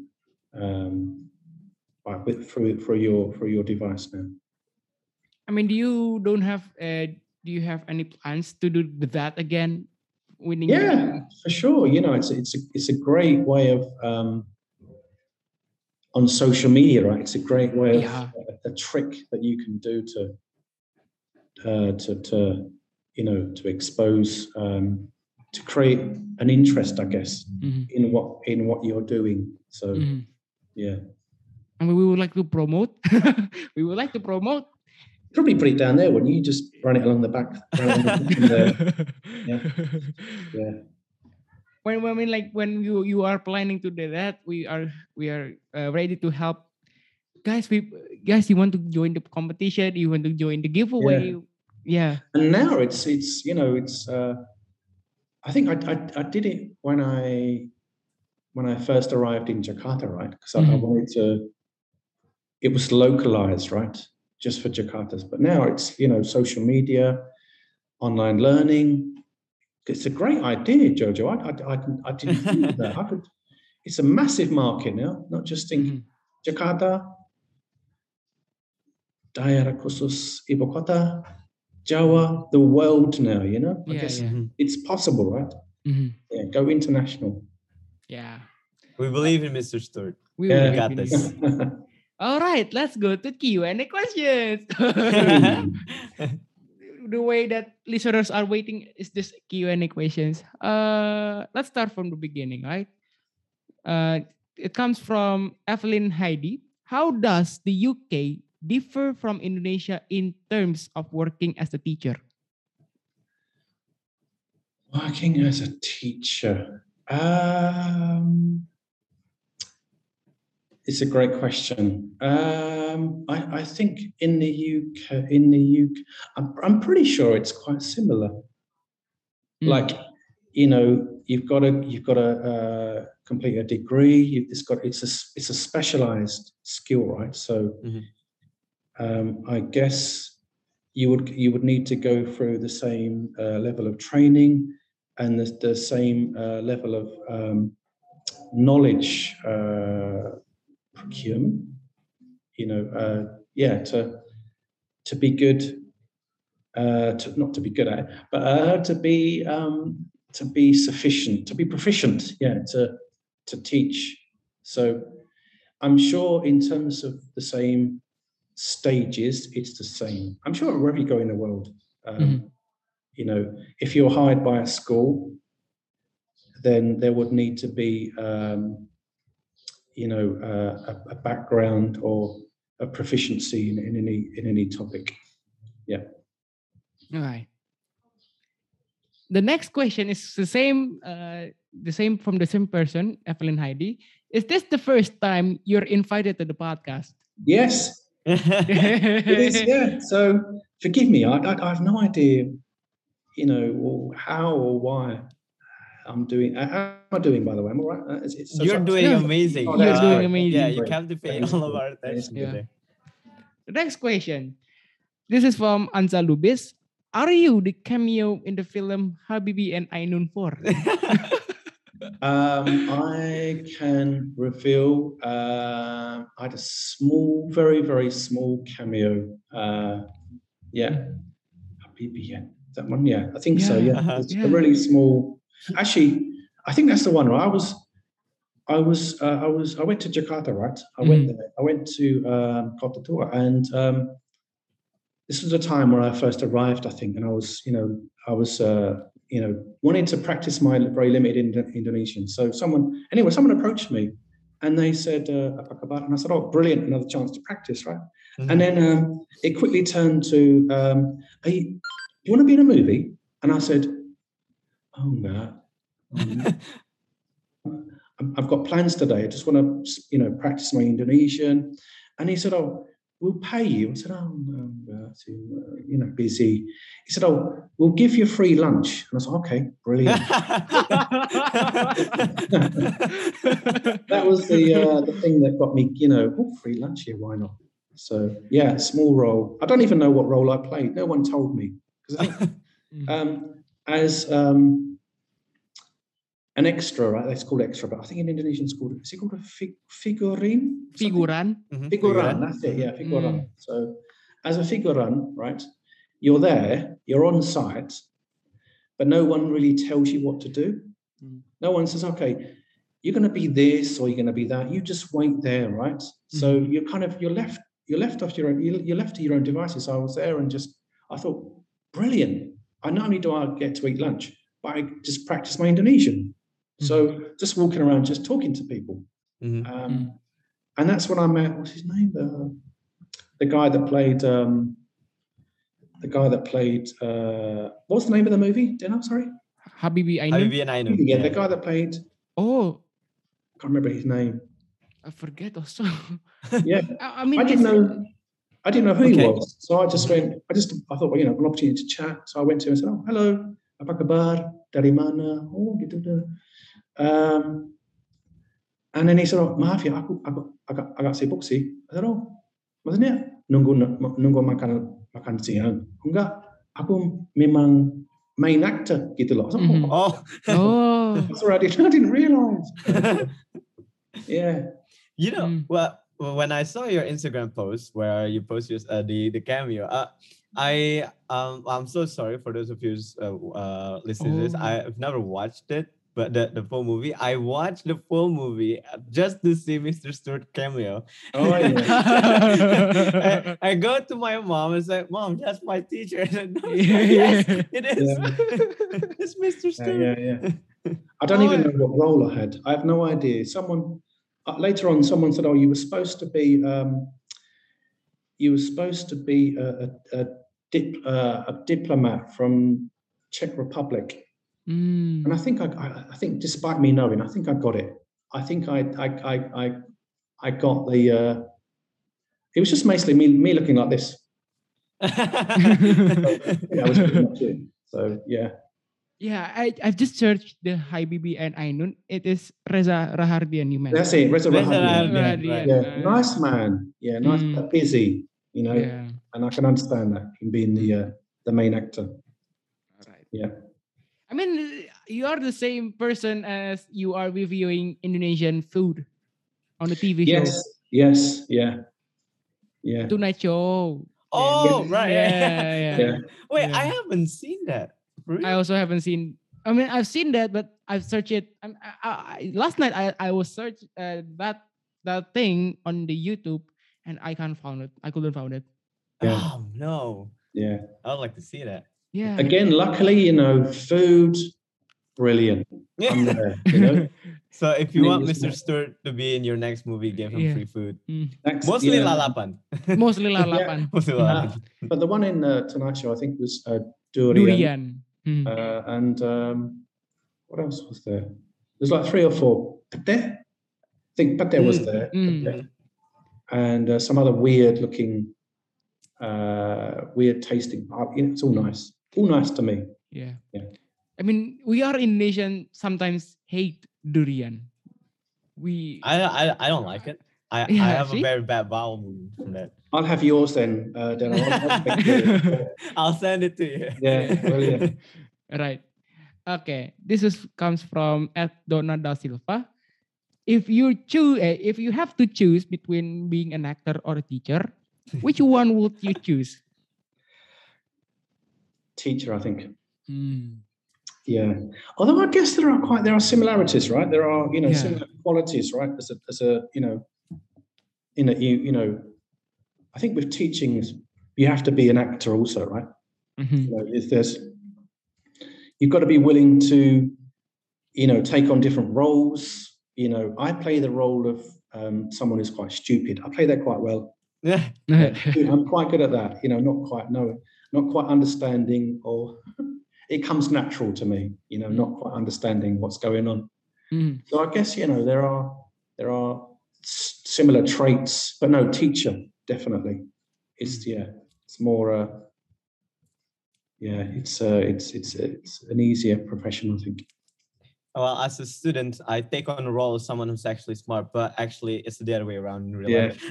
through your device now. I mean, do you have any plans to do that again? For sure. It's a great way of on social media, right? It's a great way of a trick that you can do to expose to create an interest, I guess, in what you're doing. So yeah. I mean, we would like to promote. We would like to promote. Probably put it down there, wouldn't you? Just run it along the back. Yeah. When you are planning to do that, we are ready to help. Guys, you want to join the competition? You want to join the giveaway? Yeah. And now it's I think I did it when I first arrived in Jakarta, right? Because I wanted to. It was localized, right? Just for Jakartas. But now it's, social media, online learning. It's a great idea, Jojo. I didn't think of that. It's a massive market now, not just in Jakarta, Daerah Khusus Ibu Kota, Jawa, the world now, I guess it's possible, right? Yeah, go international. Yeah. We believe in Mr. Stewart. We Yeah. will got believe this. in you. All right, let's go to Q&A questions. The way that listeners are waiting is this Q&A questions. Let's start from the beginning, right? It comes from Evelyn Heidi. How does the UK differ from Indonesia in terms of working as a teacher? Working as a teacher. It's a great question. I think in the UK, I'm pretty sure it's quite similar. Like, you've got to complete a degree. It's a specialized skill, right? So, I guess you would need to go through the same level of training and the same level of knowledge procurement. To be good. Not to be good at it, but to be sufficient, to be proficient, to teach. So I'm sure in terms of the same stages, it's the same. I'm sure wherever you go in the world, if you're hired by a school, then there would need to be, a background or a proficiency in any topic. Yeah. All right. The next question is the same from the same person, Evelyn Heidi. Is this the first time you're invited to the podcast? Yes, it is. Yeah. So forgive me. I have no idea, how or why I'm doing. How am I doing, by the way? Am I right? You're doing amazing. You're doing amazing. Yeah, you captivate all of our attention today. The next question. This is from Anza Lubis. Are you the cameo in the film Habibie and Ainun 4? I can reveal I had a small, very, very small cameo. Habibie, yeah. That one, yeah. I think so, yeah. It's a really small. Actually, I think that's the one, right? I went to Jakarta, right? I went there. I went to Kota Tua, and this was a time where I first arrived, I think, and I was wanting to practice my very limited Indonesian. So someone approached me, and they said, "Apa kabar?" And I said, "Oh, brilliant! Another chance to practice, right?" And then it quickly turned to, "Hey, do you want to be in a movie?" And I said, "Oh no." I've got plans today. I just want to, practice my Indonesian. And he said, "Oh, we'll pay you." I said, "Oh, no, busy." He said, "Oh, we'll give you free lunch." And I said, "Okay, brilliant." That was the thing that got me, free lunch here, why not? So, yeah, small role. I don't even know what role I played. No one told me. Because I think as an extra, right? It's called extra, but I think in Indonesian is it called a figurin? Figuran. Figuran, that's it, yeah, figuran. So as a figuran, right, you're there, you're on site, but no one really tells you what to do. No one says, okay, you're going to be this or you're going to be that. You just wait there, right? So you're left to your own devices. So I was there and I thought, brilliant. I not only do I get to eat lunch, but I just practice my Indonesian. So just walking around, just talking to people. And that's when I met, what's his name? The guy that played, what's the name of the movie? Dino, sorry? Habibie Ainun. Yeah, the guy that played. Oh. I can't remember his name. I forget also. Yeah. I mean, I didn't know who he was. So I just went, I thought, well, an opportunity to chat. So I went to him and said, "Oh, hello, apa kabar? Dari mana?" Oh, gitu. And then he said, "Oh, maaf ya, aku agak sibuk sih." I said, "Oh, maksudnya nunggu makan siang?" "Enggak, aku memang main actor gitu loh." Sorry, I didn't realize. Yeah. Well, when I saw your Instagram post where you post the cameo, I'm so sorry for those of you listening to this. I've never watched it, but the full movie. I watched the full movie just to see Mr. Stewart cameo. Oh, I go to my mom and say, "Mom, that's my teacher." And said, no, Yeah. yes, it is. It's Mr. Stewart. I don't even know what role I had. I have no idea. Someone later on, someone said, "Oh, you were supposed to be a diplomat from Czech Republic." And I think despite me knowing, I think I got it. I think I got the. It was just basically me looking like this. That was pretty much it. So yeah. Yeah, I've just searched the Habibie and Ainun. It is Reza Rahardian you mentioned. That's it, Reza Rahardian. Rahardian, Yeah, nice man. Yeah, nice, but busy. You know, and I can understand that him being the main actor. Right. Yeah. I mean, you are the same person as you are reviewing Indonesian food on the TV show. Yes, yeah. Tonight Show. Oh, right. Yeah. Wait, I haven't seen that. Really? I also haven't seen. I mean, I've seen that, but I've searched it. Last night I was search that thing on the YouTube, and I can't find it. I couldn't find it. Yeah. Oh no. Yeah. I would like to see that. Yeah. Again, luckily, food, brilliant. I'm there, So if you want Mr. Stewart to be in your next movie, give him free food. Mostly lalapan. Mostly lalapan. Mostly lalapan. But the one in Tonight Show, I think, was durian. And what else was there? There's like 3 or 4. Pate? I think pate was there. And some other weird looking, weird tasting. It's all nice. All nice to me. Yeah. I mean, we are Indonesian sometimes hate durian. I don't like it. I have a very bad bowel movement from that. I'll have yours then, Deno. I'll send it to you. Yeah, brilliant. Right. Okay. This comes from @Donna Da Silva. If you have to choose between being an actor or a teacher, which one would you choose? Teacher, I think. Yeah. Although I guess there are similarities, right? There are, similar qualities, right? As a I think with teaching, you have to be an actor also, right? You've got to be willing to, take on different roles. I play the role of someone who's quite stupid. I play that quite well. Yeah. I'm quite good at that. Not quite understanding, or it comes natural to me. Not quite understanding what's going on. So I guess there are similar traits, but no, teacher definitely. It's more. It's an easier profession, I think. Well, as a student, I take on the role of someone who's actually smart, but actually it's the other way around in real life.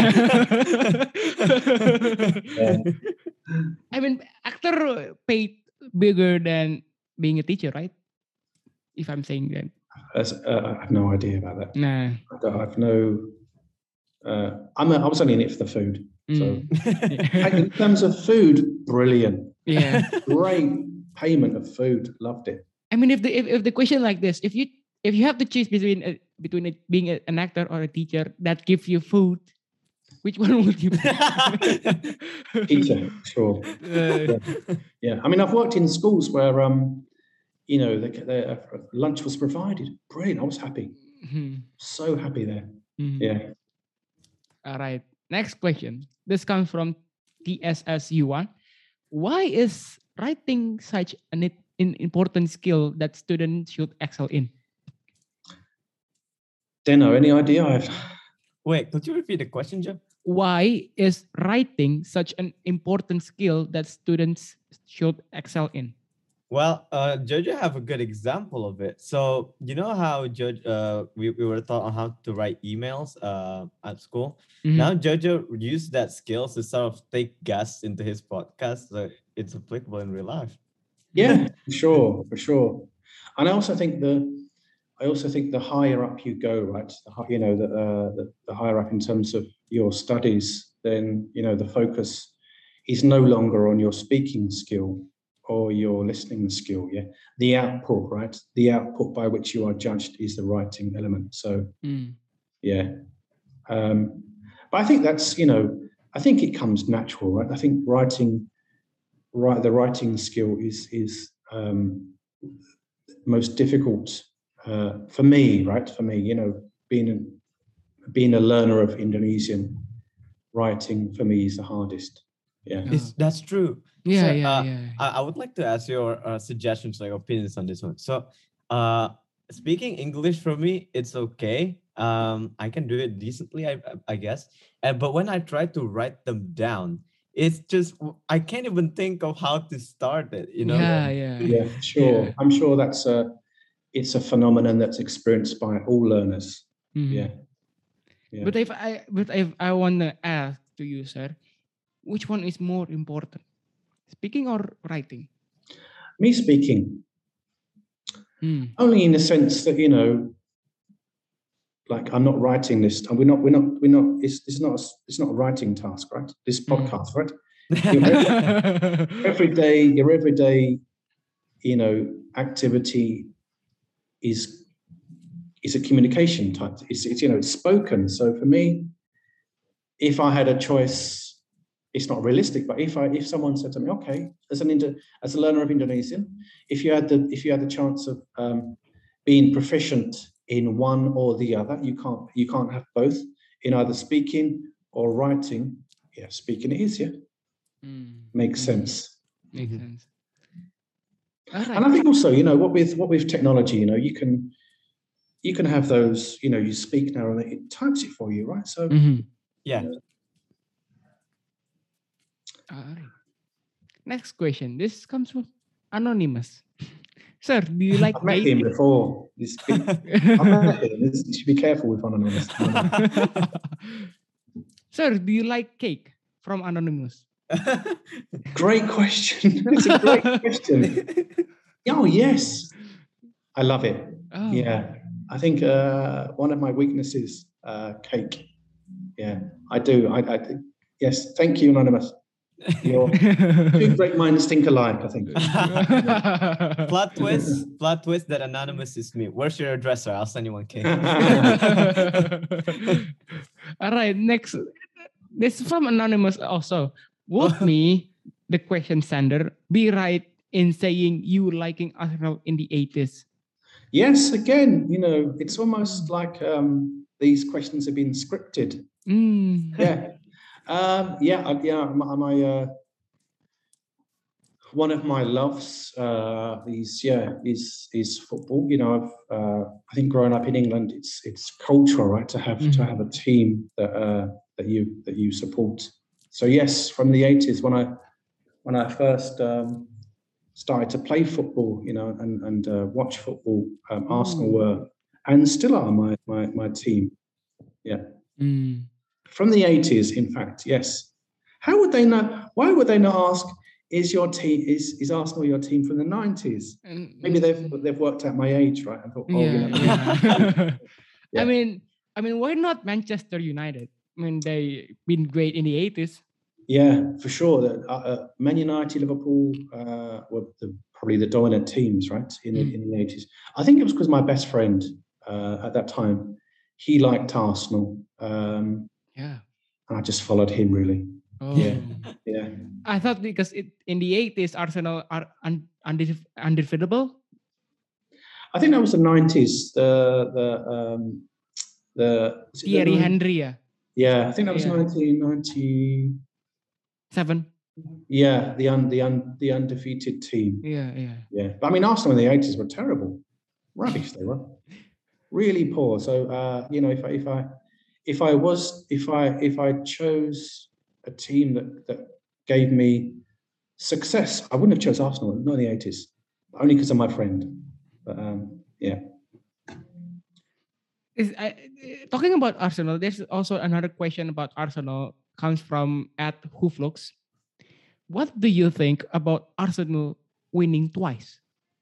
I mean, actor paid bigger than being a teacher, right? If I'm saying that. I have no idea about that. Nah. I have no. I was only in it for the food. So in terms of food, brilliant. Yeah. Great payment of food. Loved it. I mean, if the question like this, if you have to choose between being an actor or a teacher that gives you food, which one would you pick? Teacher, sure. Yeah. I mean, I've worked in schools where the lunch was provided. Brilliant. I was happy. So happy there. Yeah. All right. Next question. This comes from TSSU1. Why is writing such an important skill that students should excel in? Deno, any idea? Wait, could you repeat the question, Joe? Why is writing such an important skill that students should excel in? Well, Jojo have a good example of it. So you know how we were taught on how to write emails at school. Now Jojo used that skill to sort of take guests into his podcast, so it's applicable in real life. Yeah, for sure. And I also think the higher up you go, right? The higher up in terms of your studies, then the focus is no longer on your speaking skill or your listening skill. Yeah, the output, right? The output by which you are judged is the writing element. So yeah, but I think that's I think it comes natural, right? I think the writing skill is most difficult for me, right? For me, being a learner of Indonesian, writing for me is the hardest. Yeah, that's true. Yeah, so, I would like to ask your suggestions, like opinions on this one. So, speaking English for me, it's okay. I can do it decently, I guess. But when I try to write them down, it's just I can't even think of how to start it. Yeah, sure. Yeah. I'm sure it's a phenomenon that's experienced by all learners. Yeah. But if I want to ask to you, sir, which one is more important, speaking or writing? Me speaking. Only in the sense that like I'm not writing this. We're not. It's not a writing task, right? This podcast, right? Your everyday, activity is a communication type. It's spoken. So for me, if I had a choice, it's not realistic. But if someone said to me, okay, as a learner of Indonesian, if you had the chance of being proficient in one or the other, you can't have both in either speaking or writing. Yeah, speaking it is. Yeah, makes sense. Makes sense. Right. And I think also, what with technology, you can have those, you speak now and it types it for you, right? So yeah. All right. Next question. This comes from Anonymous. Sir, do you like I've met him before. I've met him. You should be careful with Anonymous. Sir, do you like cake? From Anonymous. Great question. It's a great question. Oh, yes. I love it. Oh. Yeah. I think one of my weaknesses, cake. Yeah, I do. I yes. Thank you, Anonymous. Your two great minds think alike, I think. Plot twist that Anonymous is me. Where's your address, sir? I'll send you one cake. All right, next. This is from Anonymous also. Would me, the question sender, be right in saying you liking Arsenal in the 80s? Yes, again, it's almost like these questions have been scripted. Yeah. One of my loves is football. I think growing up in England, it's cultural, right, to have a team that you support. So yes, from the 80s, when I first started to play football, and watch football, Arsenal were and still are my team. Yeah. From the 80s, in fact, yes. How would they know? Why would they not ask? Is your team is Arsenal your team from the 90s? Maybe they've worked out my age, right? I thought, yeah. I mean, why not Manchester United? I mean, they've been great in the 80s. Yeah, for sure. Man United, Liverpool were probably the dominant teams, right, in the 80s. I think it was because my best friend at that time, he liked Arsenal. Yeah. And I just followed him, really. Oh. Yeah. I thought because in the 80s, Arsenal are undefeatable. I think that was the 90s. The Thierry Henry. Yeah, I think that was 1997. Yeah, the undefeated team. Yeah. But I mean, Arsenal in the 80s were terrible, rubbish. They were really poor. So if I chose a team that gave me success, I wouldn't have chose Arsenal, not in the 80s, only because of my friend. But yeah. Talking about Arsenal, there's also another question about Arsenal comes from @Hooflux. What do you think about Arsenal winning twice?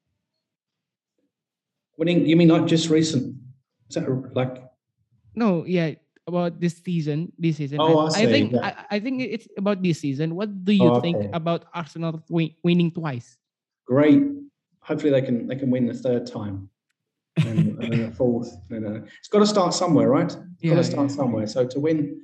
Winning? You mean not just recent? Is that like? No, yeah, about this season. Oh, I think it's about this season. What do you think about Arsenal winning twice? great. Hopefully they can win the third time, and then the fourth. It's got to start somewhere, right? It's got to start somewhere. So to win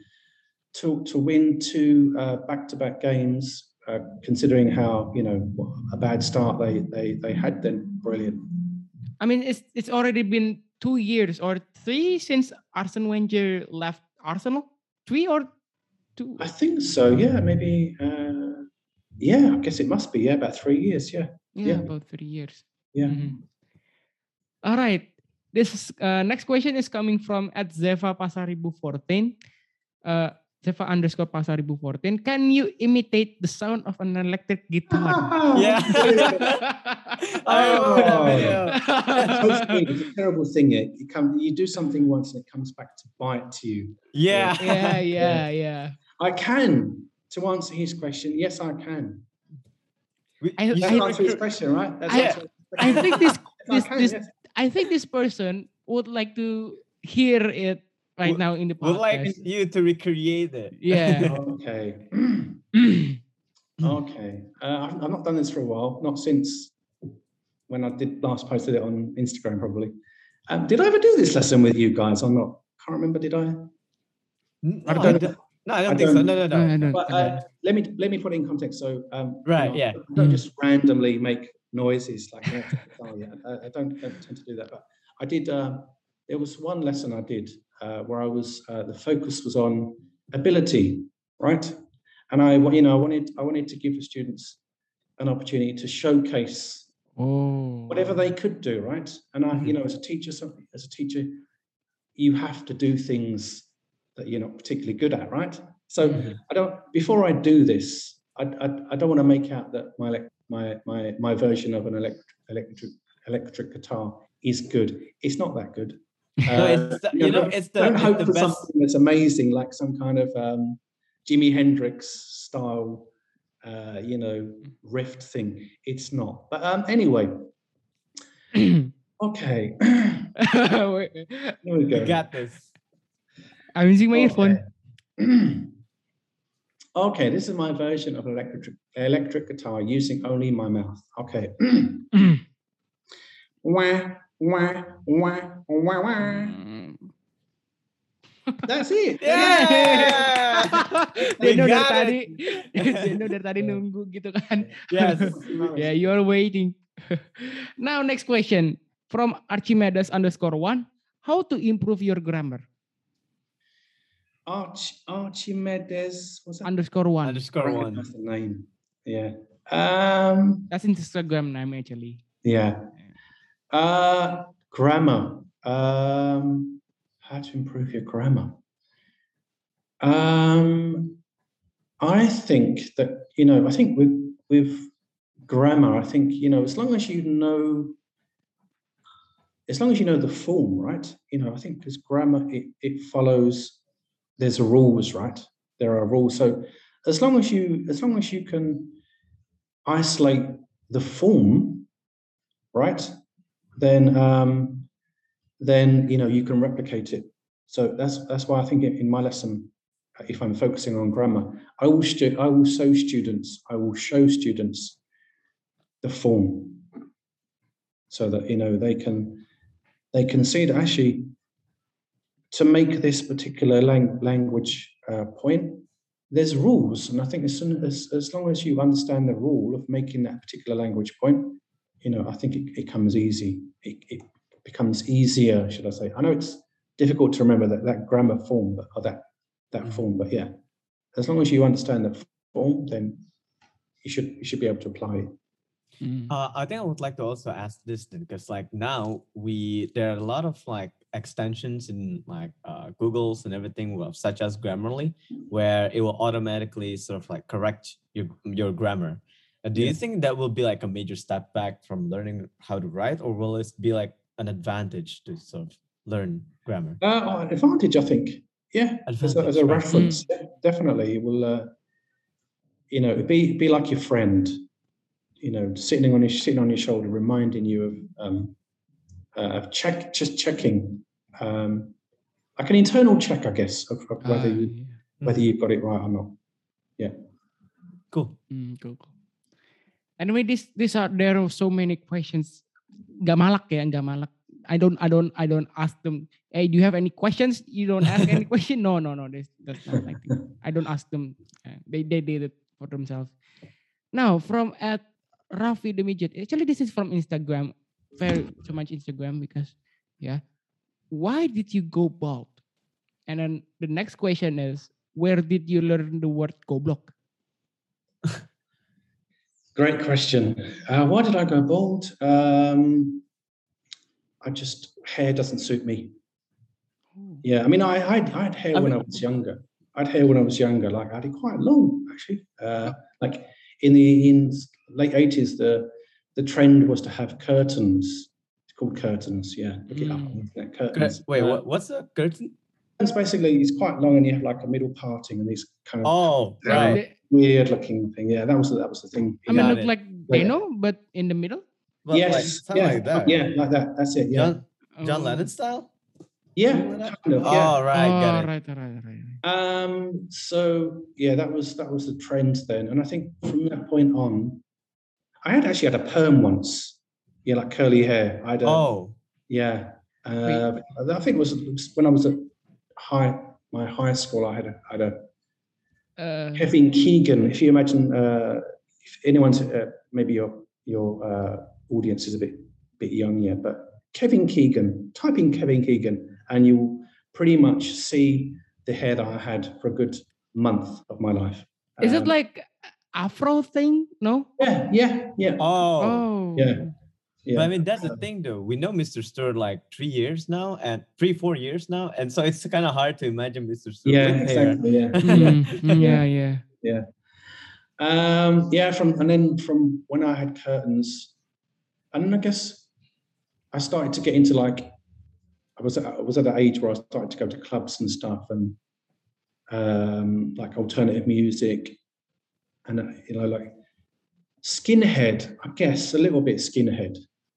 two back-to-back games, considering how a bad start they had, then brilliant. I mean, it's already been 2 years or 3 since Arsene Wenger left Arsenal. 3 or 2? I think so. Yeah, maybe. Yeah, I guess it must be. Yeah, about 3 years. Yeah. Yeah, about 3 years. Yeah. Mm-hmm. All right. This next question is coming from @Zeva_Pasaribu14. Zeva_Pasaribu14. Can you imitate the sound of an electric guitar? Yeah. It's a terrible thing. You do something once and it comes back to bite you. Yeah. Yeah. I can. To answer his question, yes, I can. That's answer his question, right? I think this person would like to hear it right now in the podcast. Would like you to recreate it. Yeah. Okay. Okay. I've not done this for a while. Not since when I last posted it on Instagram, probably. Did I ever do this lesson with you guys or not? Can't remember. Did I? I don't think so. No. But let me put it in context. So right, yeah. Don't just randomly make noises like that. I don't tend to do that. But I did. There was one lesson I did where I was. The focus was on ability, right? And I wanted to give the students an opportunity to showcase whatever they could do, right? And as a teacher, you have to do things that you're not particularly good at, right? So before I do this, I don't want to make out that my version of an electric guitar is good. It's not that good. Don't hope for something that's amazing, like some kind of Jimi Hendrix style, riff thing. It's not. But anyway, okay. Here we go. You got this. I'm using my earphone. Okay, this is my version of electric guitar using only my mouth. Okay. Wah, wah, wah, wah, wah. That's it. Yeah. Deno dari tadi nunggu gitu kan. Yes. Yeah, you're waiting. Now next question from Archimedes_1. How to improve your grammar? Archimedes what's that? _1. That's the name. Yeah. That's Instagram name actually. Yeah. Grammar. How to improve your grammar? I think that I think with grammar, I think as long as you know the form, right? I think because grammar it follows. There's rules, right? There are rules. So as long as you can isolate the form, right? Then you can replicate it. So that's why I think in my lesson, if I'm focusing on grammar, I will show students the form, so that they can see that actually to make this particular language point, there's rules, and I think as long as you understand the rule of making that particular language point, I think it comes easy. It becomes easier, should I say? I know it's difficult to remember that grammar form, or that form, but yeah, as long as you understand the form, then you should be able to apply it. I think I would like to also ask this then, because now there are a lot of extensions in Google's and everything, such as Grammarly, where it will automatically sort of correct your grammar. Do you think that will be a major step back from learning how to write, or will it be an advantage to sort of learn grammar? Advantage, I think. Yeah, as a reference, definitely. It will, be like your friend. Sitting on your shoulder, reminding you of checking, like an internal check, I guess, of whether you've got it right or not. Yeah. Cool. Cool. Anyway, there are so many questions. Gak malak. I don't ask them. Hey, do you have any questions? You don't ask any question. No. That's not like that. I don't ask them. They did it for themselves. Now from at Raffi the Midget. Actually, this is from Instagram. Very so much Instagram because why did you go bald? And then the next question is, where did you learn the word goblok? Great question. Why did I go bald? Hair doesn't suit me. Yeah, I mean, I had hair when I was younger. Like I had it quite long, actually. Like in late 80s, the trend was to have curtains. It's called curtains. Yeah, look it up on the internet. Curtains. Wait, what's a curtain? It's basically, it's quite long and you have like a middle parting and these kind of weird looking thing. Yeah, that was the thing. I mean, look like Deno, but in the middle. But yes, like that. Yeah, like that. That's it. Yeah, John Lennon style. Yeah, kind of. Yeah. Oh, right, Right. So yeah, that was the trend then, and I think from that point on, I actually had a perm once. Yeah, like curly hair. I think it was when I was at my high school. I had a Kevin Keegan. If you imagine, if anyone's maybe your audience is a bit young yet, but Kevin Keegan. Type in Kevin Keegan, and you pretty much see the hair that I had for a good month of my life. Is it like Afro thing? No. Yeah. Oh. Yeah. But I mean, that's the thing, though. We know Mr. Stewart like 4 years now, and so it's kind of hard to imagine Mr. Stewart with exactly, hair. Yeah. From when I had curtains, and then I guess I started to get into like I was at that age where I started to go to clubs and stuff, and like alternative music, and like skinhead. I guess a little bit skinhead.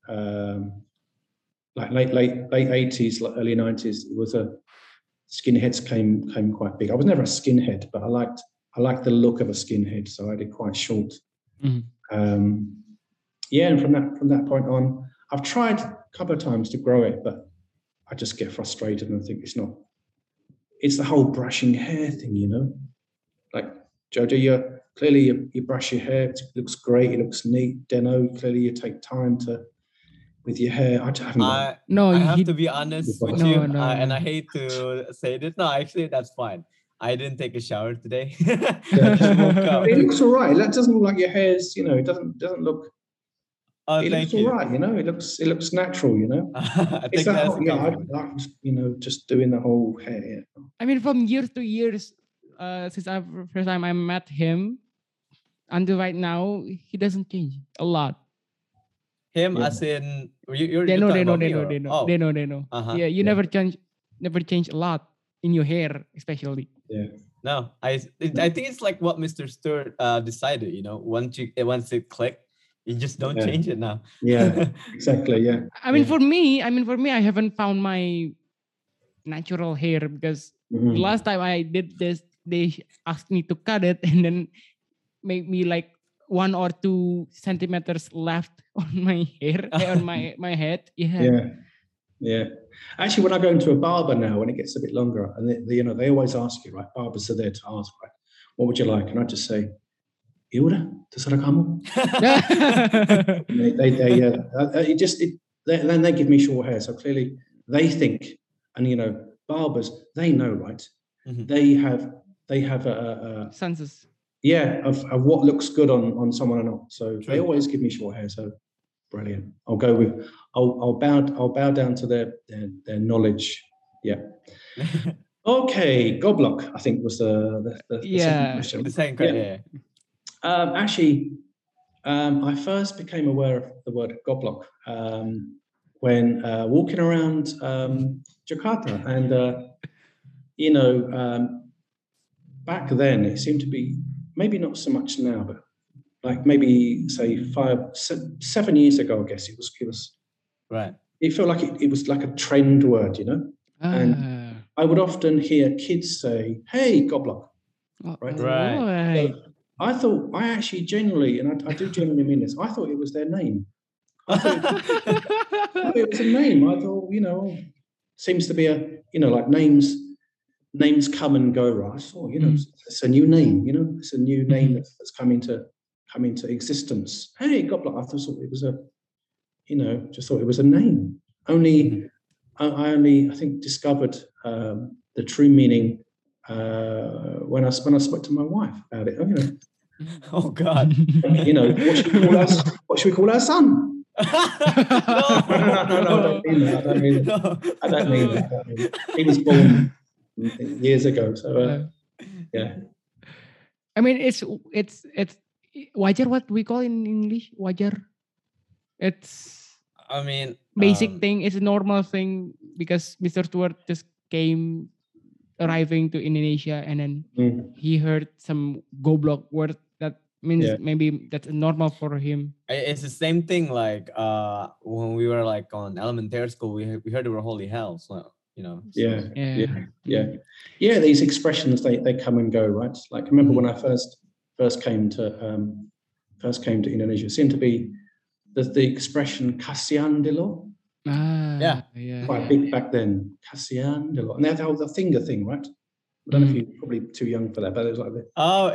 Like late 80s, like early 90s, it was skinheads came quite big. I was never a skinhead, but I liked the look of a skinhead, so I had it quite short. And from that point on, I've tried a couple of times to grow it, but I just get frustrated and I think it's the whole brushing hair thing, like Jojo, you brush your hair, it looks great, it looks neat. Deno, clearly you take time with your hair. I have to be honest with you, and I hate to say this. No, actually, that's fine. I didn't take a shower today. It looks all right. It doesn't look like your hair's, it doesn't look. It looks all right, It looks natural, It's that whole, I like, just doing the whole hair. Yeah. I mean, from years to years, since first time I met him until right now, he doesn't change a lot. Him as in you're Deno. Uh-huh. Yeah, you never change a lot in your hair, especially. Yeah. No, I think it's like what Mr. Stewart decided. Once it clicked, you just don't change it now. Yeah, exactly. Yeah. I mean, for me, I haven't found my natural hair because the last time I did this, they asked me to cut it and then make me like 1 or 2 centimeters left on my hair, on my head. Yeah. Actually, when I go into a barber now, when it gets a bit longer, and they always ask you, right? Barbers are there to ask, right? What would you like? And I just say, "Iura, terserah kamu." Then they give me short hair, so clearly they think, and barbers, they know, right? Mm-hmm. They have a census. Yeah, of what looks good on someone or not. So they always give me short hair. So brilliant. I'll bow down to their knowledge. Yeah. Okay, goblok, I think was the second question. The second question. Yeah. Actually, I first became aware of the word goblok when walking around Jakarta, and back then it seemed to be, maybe not so much now, but like maybe say 7 years ago, I guess it was right. It felt like it was like a trend word, and I would often hear kids say, "Hey, goblok," right? Right. So I thought, I actually genuinely, and I do genuinely mean this, I thought it was their name. I thought it was a name. I thought, seems to be like names come and go, right? I thought, it's a new name, it's a new name that's come into existence. Hey, Goblet, I thought it was just thought it was a name. Only, I think, discovered the true meaning when I spoke to my wife about it. Oh God! What should we call our son? No, I don't mean that. He was born years ago, so yeah. I mean, it's wajar, what we call in English, wajar. It's I mean, basic thing. It's a normal thing because Mr. Stewart just arriving to Indonesia, and then he heard some goblok word that means maybe that's normal for him. It's the same thing like when we were like on elementary school, we heard the word holy hell, so Yeah, these expressions they come and go, right? Like I remember when I first came to Indonesia, it seemed to be the expression kasian delo. Quite big back then. Kasian delo. And they had the whole finger thing, right? I don't know if you're probably too young for that, but it was like that. Oh,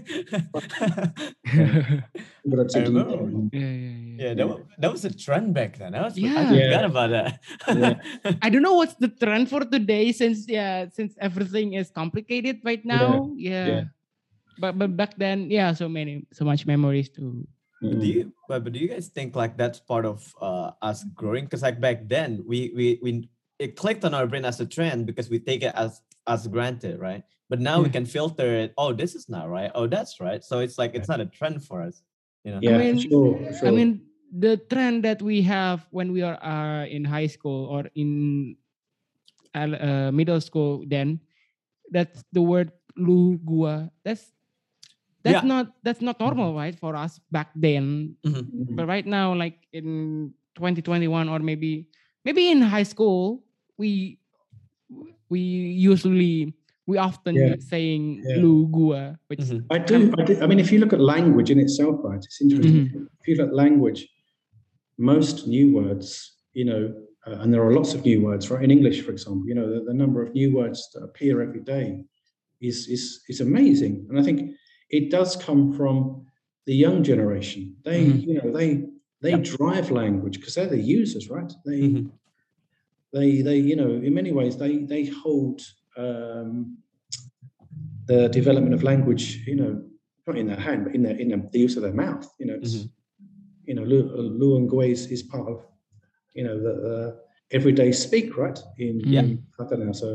I remember. That was a trend back then. I forgot about that. I don't know what's the trend for today since everything is complicated right now. But back then, so much memories too. Do you guys think like that's part of us growing? Because like back then we it clicked on our brain as a trend because we take it as granted, right? But now we can filter it. Oh, this is not right. Oh, that's right. So it's like it's not a trend for us. Yeah, sure. I mean, the trend that we have when we are in high school or in middle school, then that's the word lu gua. That's not normal, right, for us back then. But right now, like in 2021 or maybe in high school, we often saying lu gua, which I do. I mean, if you look at language in itself, right, it's interesting. If you look at language, most new words, and there are lots of new words, right? In English, for example, the number of new words that appear every day is amazing, and I think it does come from the young generation. They drive language because they're the users, right? They in many ways they hold the development of language, not in their hand, but in the use of their mouth. It's Lu and Gui is part of the everyday speak, right? In Qatar. So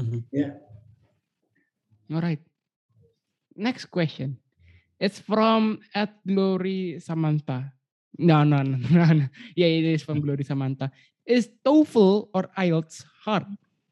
All right. Next question. It's from @Glory Samantha. No. Yeah, it is from Glory Samantha. Is TOEFL or IELTS hard?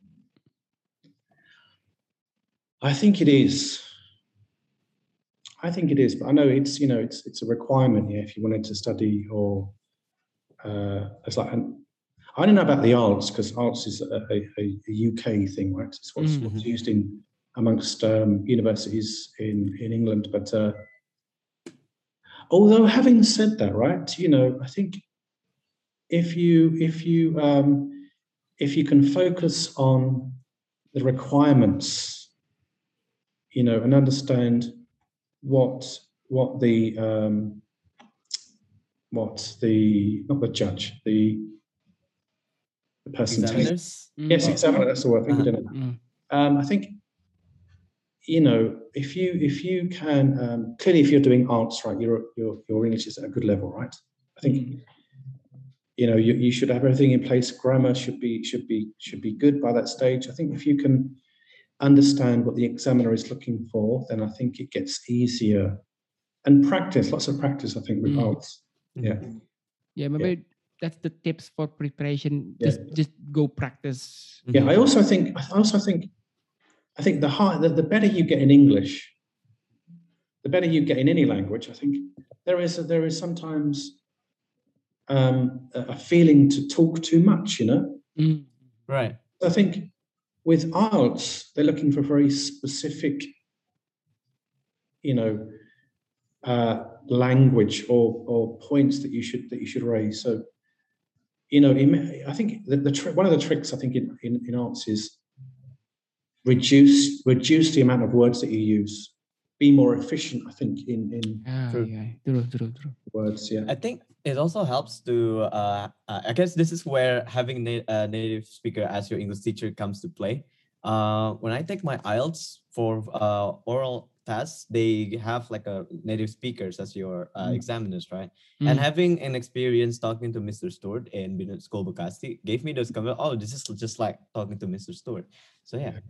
I think it is. But I know it's a requirement if you wanted to study or it's like I don't know about the IELTS because IELTS is a UK thing, right? It's what's used in amongst universities in England. But although having said that, right, I think if you can focus on the requirements, and understand what the not the judge, the person examiners. Yes, examiner. That's the word. I think if you can clearly, if you're doing arts, right, your English is at a good level, right? I think you should have everything in place. Grammar should be good by that stage. I think if you can understand what the examiner is looking for, then I think it gets easier. And lots of practice, I think, with arts. Maybe that's the tips for preparation. Just go practice. I also think the better you get in English, the better you get in any language. I think there is sometimes a feeling to talk too much, Right. I think with IELTS, they're looking for very specific, language or points that you should raise. So, I think one of the tricks I think in arts is reduce the amount of words that you use. Be more efficient, I think, in True. words. Yeah, I think it also helps to. I guess this is where having a native speaker as your English teacher comes to play. When I take my IELTS for oral tests, they have like a native speakers as your examiners, right? And having an experience talking to Mr. Stewart in Business School Bekasi gave me those comments. Oh, this is just like talking to Mr. Stewart. So yeah.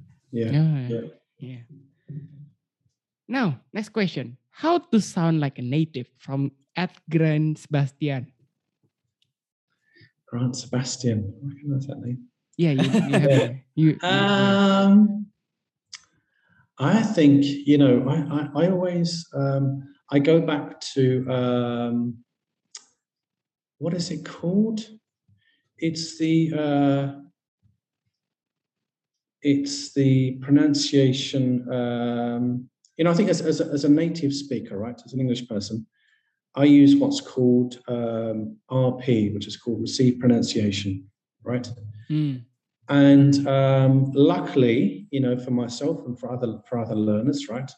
Now, next question. How to sound like a native from Ed Grant Sebastian? Grant Sebastian. I recognize that name. Yeah, you have I think, I always, I go back to, what is it called? It's the pronunciation, I think as a native speaker, right, as an English person, I use what's called RP, which is called received pronunciation, right? And luckily, for myself and for other learners, right,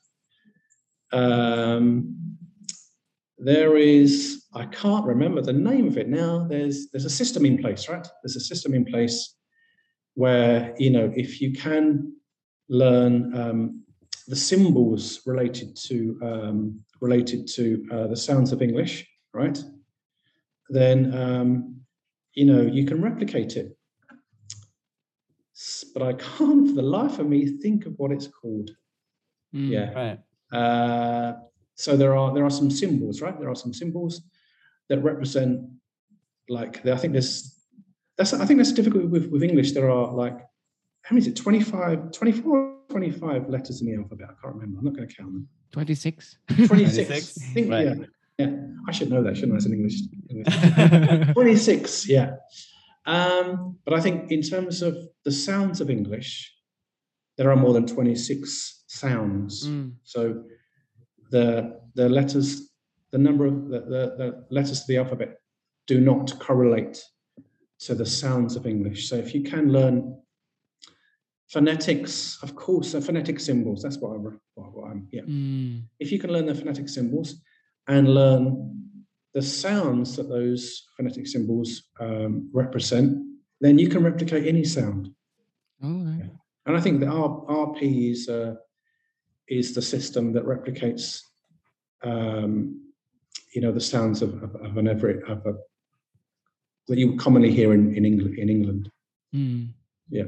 there is, I can't remember the name of it now. There's a system in place, right? There's a system in place where, if you can learn the symbols related to the sounds of English, right, then, you can replicate it. But I can't for the life of me think of what it's called. Right. So there are some symbols, right? There are some symbols that represent, like, I think that's difficult with English. There are, like, how many is it? 24, 25 letters in the alphabet. I can't remember. I'm not going to count them. 26. 26. I think, right. Yeah. I should know that, shouldn't I, as an English? 26, yeah. But I think in terms of the sounds of English, there are more than 26 sounds. So the letters, the number of the letters to the alphabet do not correlate to the sounds of English. So if you can learn phonetics, of course, phonetic symbols, that's what I'm, yeah. If you can learn the phonetic symbols and learn the sounds that those phonetic symbols represent, then you can replicate any sound. Okay. And I think the RP is the system that replicates, the sounds of that you commonly hear in England. Yeah.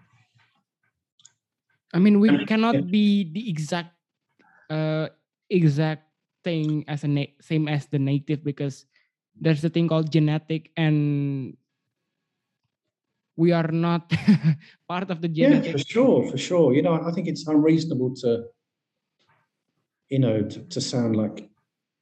I mean, we cannot be the exact thing as same as the native, because there's a thing called genetic, and we are not part of the genetic. Yeah, for sure. I think it's unreasonable to sound like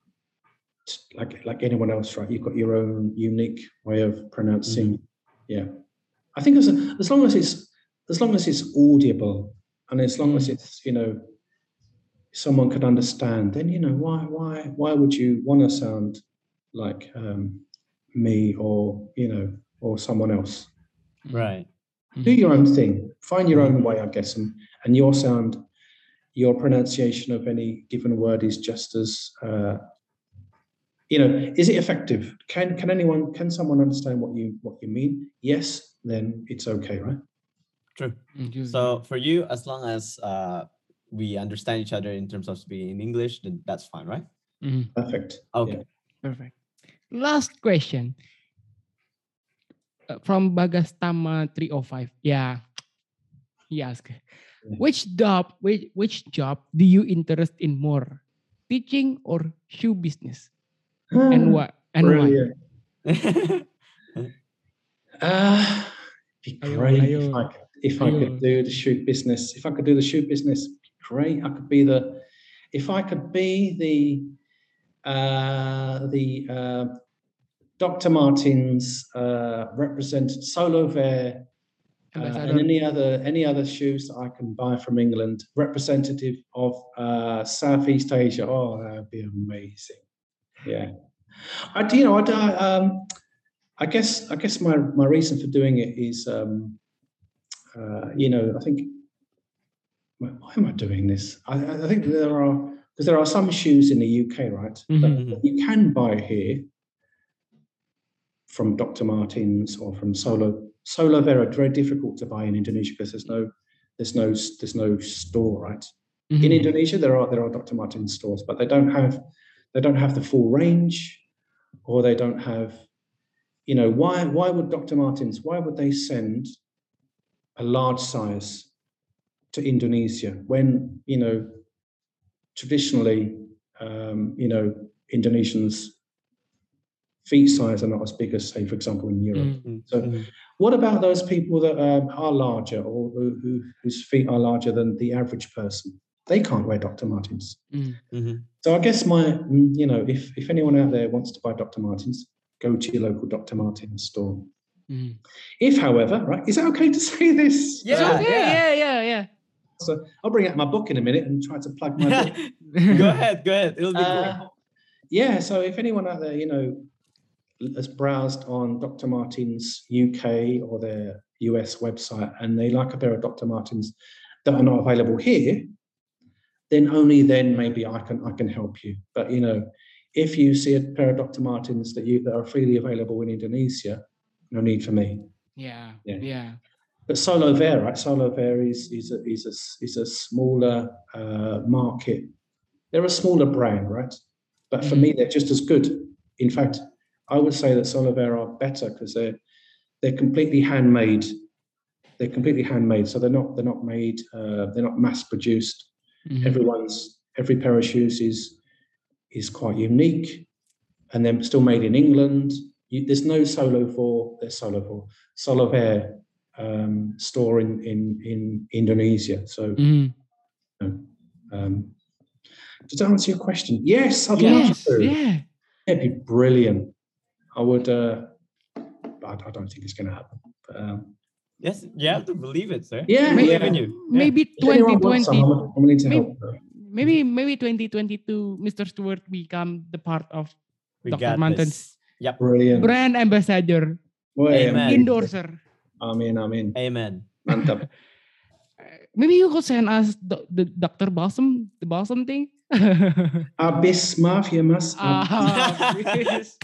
anyone else, right? You've got your own unique way of pronouncing. Yeah, I think as long as it's audible, and as long as it's someone could understand, then why would you want to sound like me or someone else? Right. Do your own thing, find your own way, I guess, and your sound, your pronunciation of any given word is just as is it effective? Can someone understand what you mean? Yes, then it's okay, right? True. So for you, as long as we understand each other in terms of speaking in English, then that's fine, right? Perfect. Okay. Yeah. Perfect. Last question from Bagastama 305. Yeah, he asked, which job do you interest in more, teaching or shoe business, and what and why? Be great if I could do the shoot business. If I could do the shoot business, great. If I could be the Dr. Martens represented Solo Ver and any other shoes that I can buy from England, representative of Southeast Asia. Oh, that'd be amazing. Yeah, I guess my reason for doing it is, I think, why am I doing this? I think there are some shoes in the UK, right, that you can buy here from Dr. Martens or from Solo Vera. Very difficult to buy in Indonesia because there's no store, right? In Indonesia there are Dr. Martens stores, but they don't have the full range, or they don't have, why would Dr. Martens, why would they send a large size to Indonesia when, traditionally, Indonesians' feet size are not as big as, say, for example, in Europe. So what about those people that are larger, or whose feet are larger than the average person? They can't wear Dr. Martens. So I guess if anyone out there wants to buy Dr. Martens, go to your local Dr. Martens store. If, however, right, is that okay to say this? Yeah, yeah. So I'll bring out my book in a minute and try to plug my book. Go ahead. It'll be cool. Yeah, so if anyone out there, has browsed on Dr. Martens UK or their US website and they like a pair of Dr. Martens that are not available here, then only then maybe I can help you. But if you see a pair of Dr. Martens that are freely available in Indonesia, no need for me. Yeah. But Solo Vera, right? Solo Vera is a smaller market. They're a smaller brand, right? But for me, they're just as good. In fact, I would say that Solo Vera are better because they're completely handmade. They're completely handmade, so they're not made. They're not mass produced. Every pair of shoes is quite unique, and they're still made in England. There's no Solo Vera store in Indonesia. So, does that answer your question? Yes, I'd love to. Yeah, it'd be brilliant. I would, but I don't think it's going to happen. But, yes, you have to believe it, sir. Yeah, believe in you. Maybe 2020. I'm willing to help. Maybe 2022, Mr. Stewart become the part of Dr. Martens. Yep. Brilliant. Brand ambassador. Amen. Endorser. Amen. Amen. Mantap. Maybe you could send us the Dr. Balsam, the balsam thing. Habis, maaf ya mas. Habis.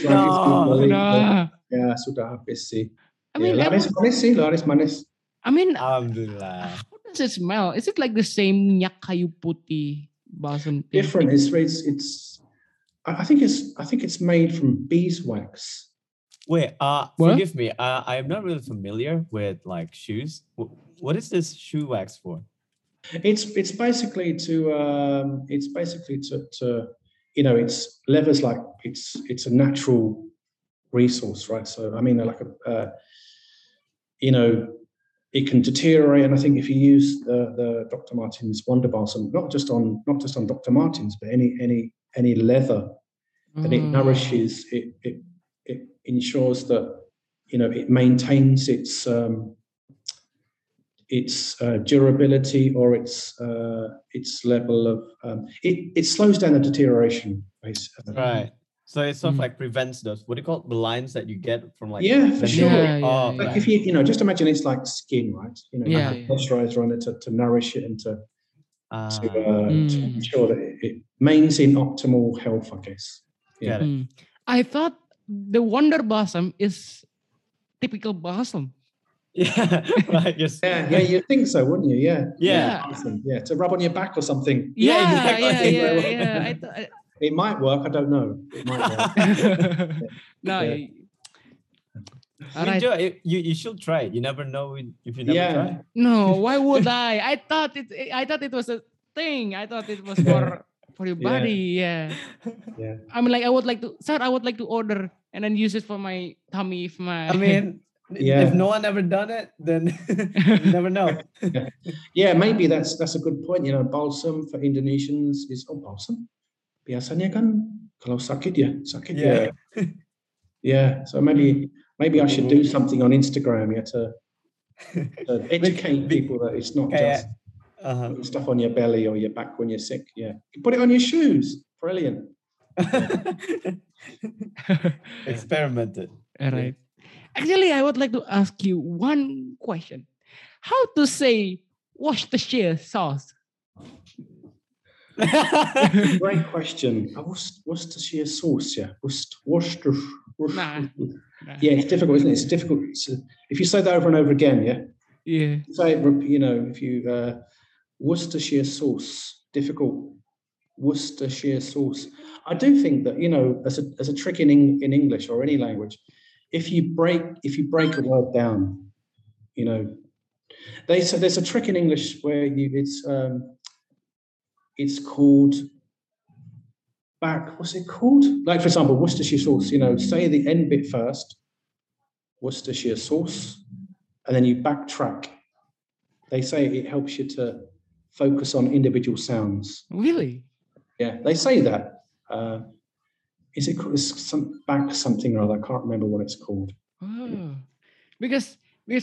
Ya sudah habis sih. I mean, laris manis. I mean, Alhamdulillah. how does it smell? Is it like the same minyak kayu putih balsam thing? Different. It's. I think it's made from beeswax. Wait, forgive me. I am not really familiar with like shoes. What is this shoe wax for? It's basically to it's leather's like it's a natural resource, right? So I mean, like it can deteriorate, and I think if you use the Dr. Martens Wonder Balsam, not just on Dr. Martens, but any leather, then it nourishes it ensures that it maintains its durability or its level of it slows down the deterioration basically. Right. So it sort of like prevents those, what do you call it, the lines that you get from like for sure. Like if you just imagine it's like skin, right? You have moisturizer on it to nourish it and to ensure that it remains in optimal health, I guess. Yeah. I thought the Wonder Balsam is typical balsam. Yeah, right. Yes. Yeah, you think so, wouldn't you? Yeah. Awesome. Yeah, to rub on your back or something. Yeah. It might work. I don't know. It might work. No. Yeah. Right. You should try it. You never know if you never try. No, why would I? I thought it was a thing. I thought it was for your body. Yeah. I mean, like I would like to order and then use it for my tummy. If no one ever done it, then you never know. Yeah, maybe that's a good point. Balsam for Indonesians is balsam. Biasanya kan kalau sakit ya. Yeah. So maybe I should do something on Instagram to So educate people that it's not just putting stuff on your belly or your back when you're sick. Yeah, you put it on your shoes. Brilliant. Experimented. All right. Actually, I would like to ask you one question. How to say Worcestershire sauce? Great question. Worcestershire sauce, yeah. Worcester. Nah. Yeah, it's difficult, isn't it? It's difficult. If you say that over and over again, yeah. Yeah. Say it, you know, if you Worcestershire sauce, difficult. Worcestershire sauce. I do think that, you know, as a trick in English or any language, if you break a word down, you know, there's a trick in English where it's called what's it called? Like, for example, Worcestershire sauce, you know, say the end bit first, Worcestershire sauce, and then you backtrack. They say it helps you to focus on individual sounds. Really? Yeah, they say that. Is it called something or other? I can't remember what it's called. Oh. Because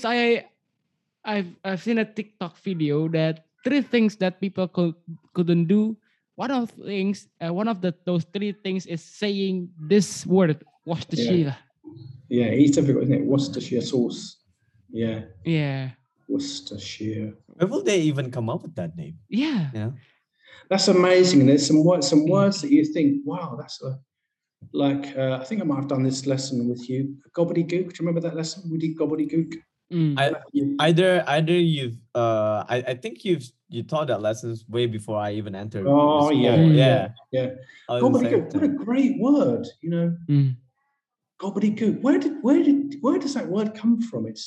I've seen a TikTok video that 3 things that people couldn't do. One of those 3 things is saying this word, Worcestershire. Yeah, it's difficult, isn't it? Worcestershire sauce. Yeah. Yeah. Worcestershire. Where will they even come up with that name? Yeah. Yeah. That's amazing. And there's some words that you think, wow, that's I think I might have done this lesson with you. Gobbledygook. Do you remember that lesson? We did gobbledygook. Either you've I think you taught that lessons way before I even entered. Oh yeah. Gobbledygook. What a great word, you know. Gobbledygook. Where does that word come from? It's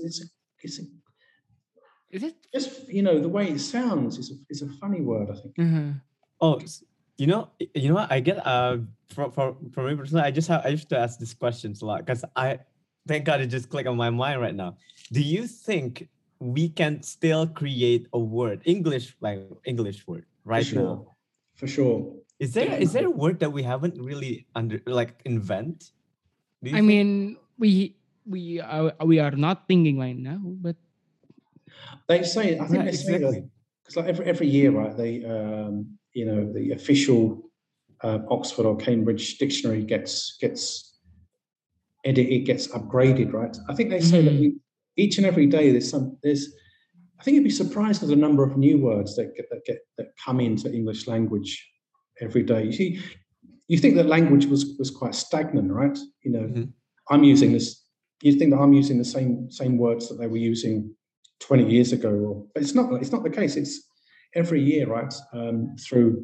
Is it just, you know, the way it sounds is a funny word, I think. Oh, you know what? I get from me personally, I used to ask these questions a lot because thank God it just clicked on my mind right now. Do you think we can still create a word, English word right now? For sure. Is there a word that we haven't really invent? I mean, we are not thinking right now, but they say, I think they say that because like every year, right? They you know, the official Oxford or Cambridge dictionary gets upgraded, right? I think they say that each and every day there's I think you'd be surprised at the number of new words that come into English language every day. You see, you think that language was quite stagnant, right? You know, I'm using this. You think that I'm using the same words that they were using 20 years ago, but it's not the case. It's every year, right? Through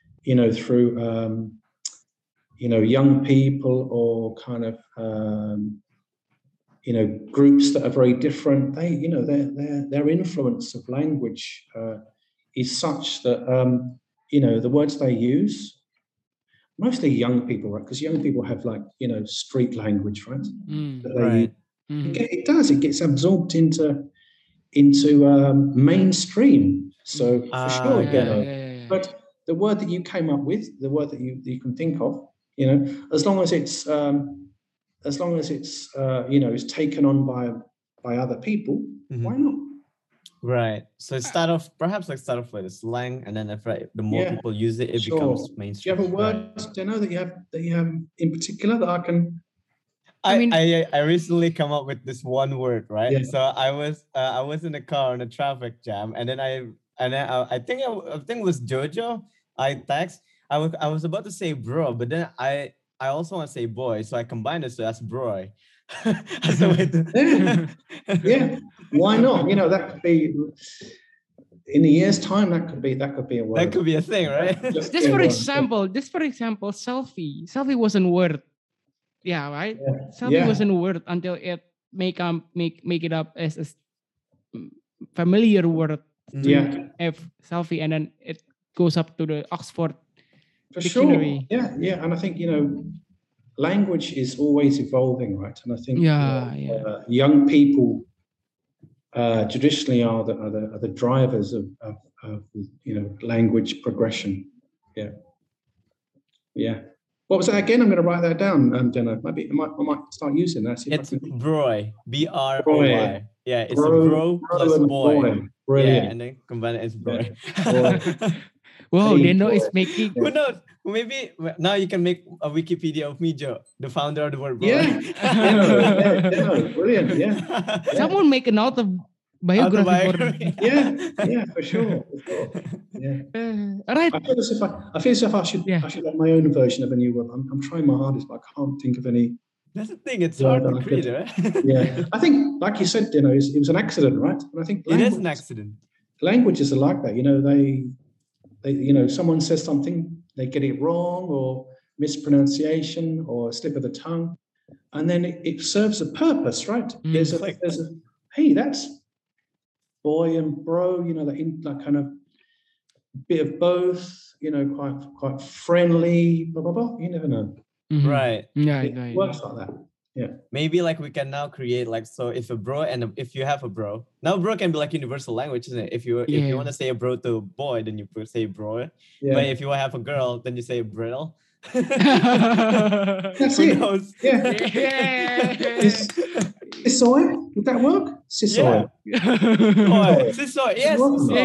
young people or kind of groups that are very different. They, you know, their influence of language is such that the words they use, mostly young people, right? Because young people have street language, right? Right. It gets absorbed into mainstream. So for sure, but the word that you came up with, the word that you can think of, as long as it's it's taken on by other people, why not? Right. So start off with a slang, and then the more people use it, it becomes mainstream. Do you have a word, Deno, that you have in particular that I can? I recently come up with this one word, right? Yeah. So I was in the car on a traffic jam, and then I think it was Jojo. I was about to say bro, but then I also want to say boy, so I combined it, so that's broy. As a way to yeah. Why not? That could be in a year's time. That could be a word. That could be a thing, right? Just for example, selfie. Selfie wasn't word. Yeah, right. Yeah. Selfie wasn't word until it make it up as a familiar word. Yeah. Selfie, and then it goes up to the Oxford Dictionary. Sure. Yeah. And I think language is always evolving, right? And I think young people traditionally are the drivers of language progression. Yeah. What was that again? I'm going to write that down, Deno. Maybe I might start using that. It's broy, BROY. Yeah, it's a bro plus and boy. Brilliant. Yeah, and then combine it as boy. Wow, Hey, Deno boy. is making. Who knows? Maybe now you can make a Wikipedia of me, Joe, the founder of the word bro. Yeah. Deno, brilliant. Yeah. Someone make a note of biography for. Yeah, for sure. Yeah. All right. I feel as if I should have my own version of a new word. I'm trying my hardest, but I can't think of any. That's the thing. It's hard to create, right? Yeah, I think, like you said, it was an accident, right? And I think it is an accident. Languages are like that. They someone says something, they get it wrong, or mispronunciation, or a slip of the tongue, and then it serves a purpose, right? There's a hey, that's boy and bro, that kind of bit of both, quite friendly, blah blah blah. You never know. Mm-hmm. Right. Yeah, it works like that. Yeah. Maybe like we can now create so if a bro and if you have a bro, now bro can be like universal language, isn't it? If you want to say a bro to a boy, then you say bro. Yeah. But if you have a girl, then you say bro. That's Who it. knows? Yeah. Sisoy? Would that work? Sisoy. Yeah. Sisoy. Yes.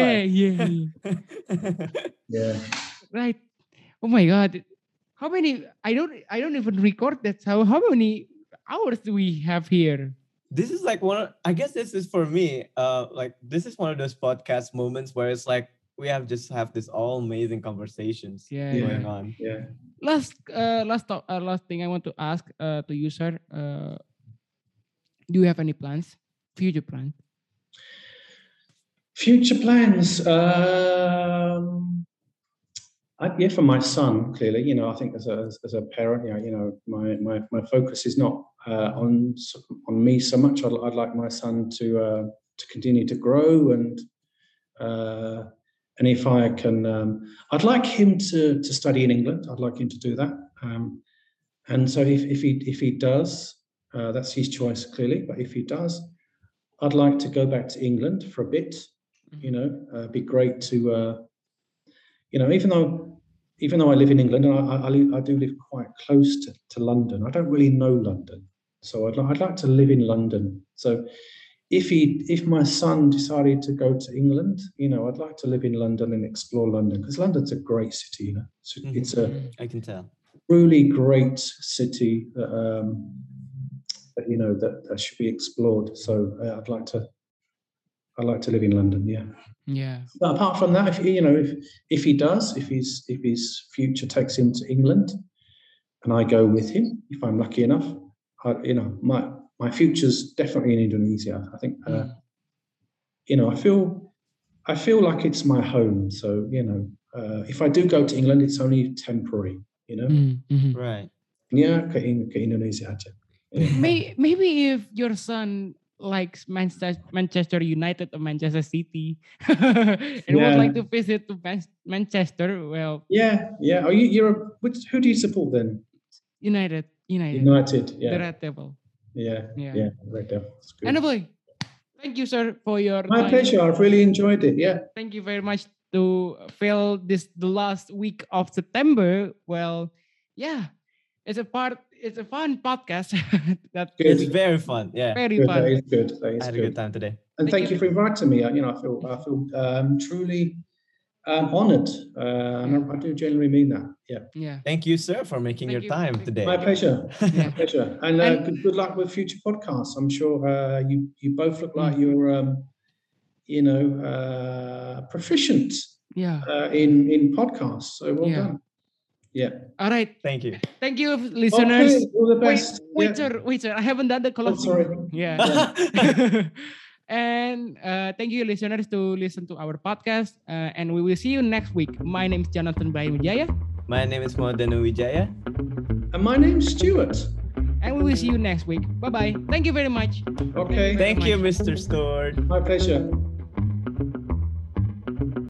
Yeah. Right. Oh my God. How many? I don't even record that. How many hours do we have here? This is like I guess this is for me. This is one of those podcast moments where it's like we have this all amazing conversations going on. Yeah. Last thing I want to ask to you, sir. Do you have any plans? Future plans? Future plans. For my son, clearly, I think as a parent, my focus is not on me so much. I'd like my son to continue to grow, and if I can, I'd like him to study in England. I'd like him to do that, and so if he does, that's his choice, clearly. But if he does, I'd like to go back to England for a bit. It'd be great to. Even though I live in England, and I do live quite close to London, I don't really know London, so I'd like to live in London. So if my son decided to go to England, I'd like to live in London and explore London, because London's a great city. It's I can tell, really great city that that should be explored. So I'd like to live in London. Yeah. Yeah. But apart from that, if he does, if his future takes him to England, and I go with him, if I'm lucky enough, my future's definitely in Indonesia. I think, I feel like it's my home. So if I do go to England, it's only temporary. Right? Yeah, ke Indonesia aja. Yeah. Maybe if your son likes Manchester United or Manchester City and would like to visit to Manchester, well, yeah. Are who do you support then? United. Yeah. The Red Devil. Yeah. Red Devil. Anyway, thank you, sir, for your My time. pleasure. I've really enjoyed it. Yeah. Thank you very much to fill the last week of September. Well, yeah, it's a fun podcast. It's very fun. Yeah, very fun. That is good. I had a good time today. And thank you for inviting me. I feel truly honored. And I do genuinely mean that. Yeah. Thank you, sir, for making your time today. My pleasure. My pleasure. And good luck with future podcasts. I'm sure you both look like you're proficient. In podcasts. So well done. Yeah. All right. Thank you. Thank you, listeners. Okay, all the best. Wait, sir. I haven't done the closing. Sorry. Yeah. And thank you, listeners, to listen to our podcast. And we will see you next week. My name is Jonathan Brahim Wijaya. My name is Deno Wijaya. And my name's Stuart. And we will see you next week. Bye-bye. Thank you very much. Okay. Thank you, Mr. Stewart. My pleasure.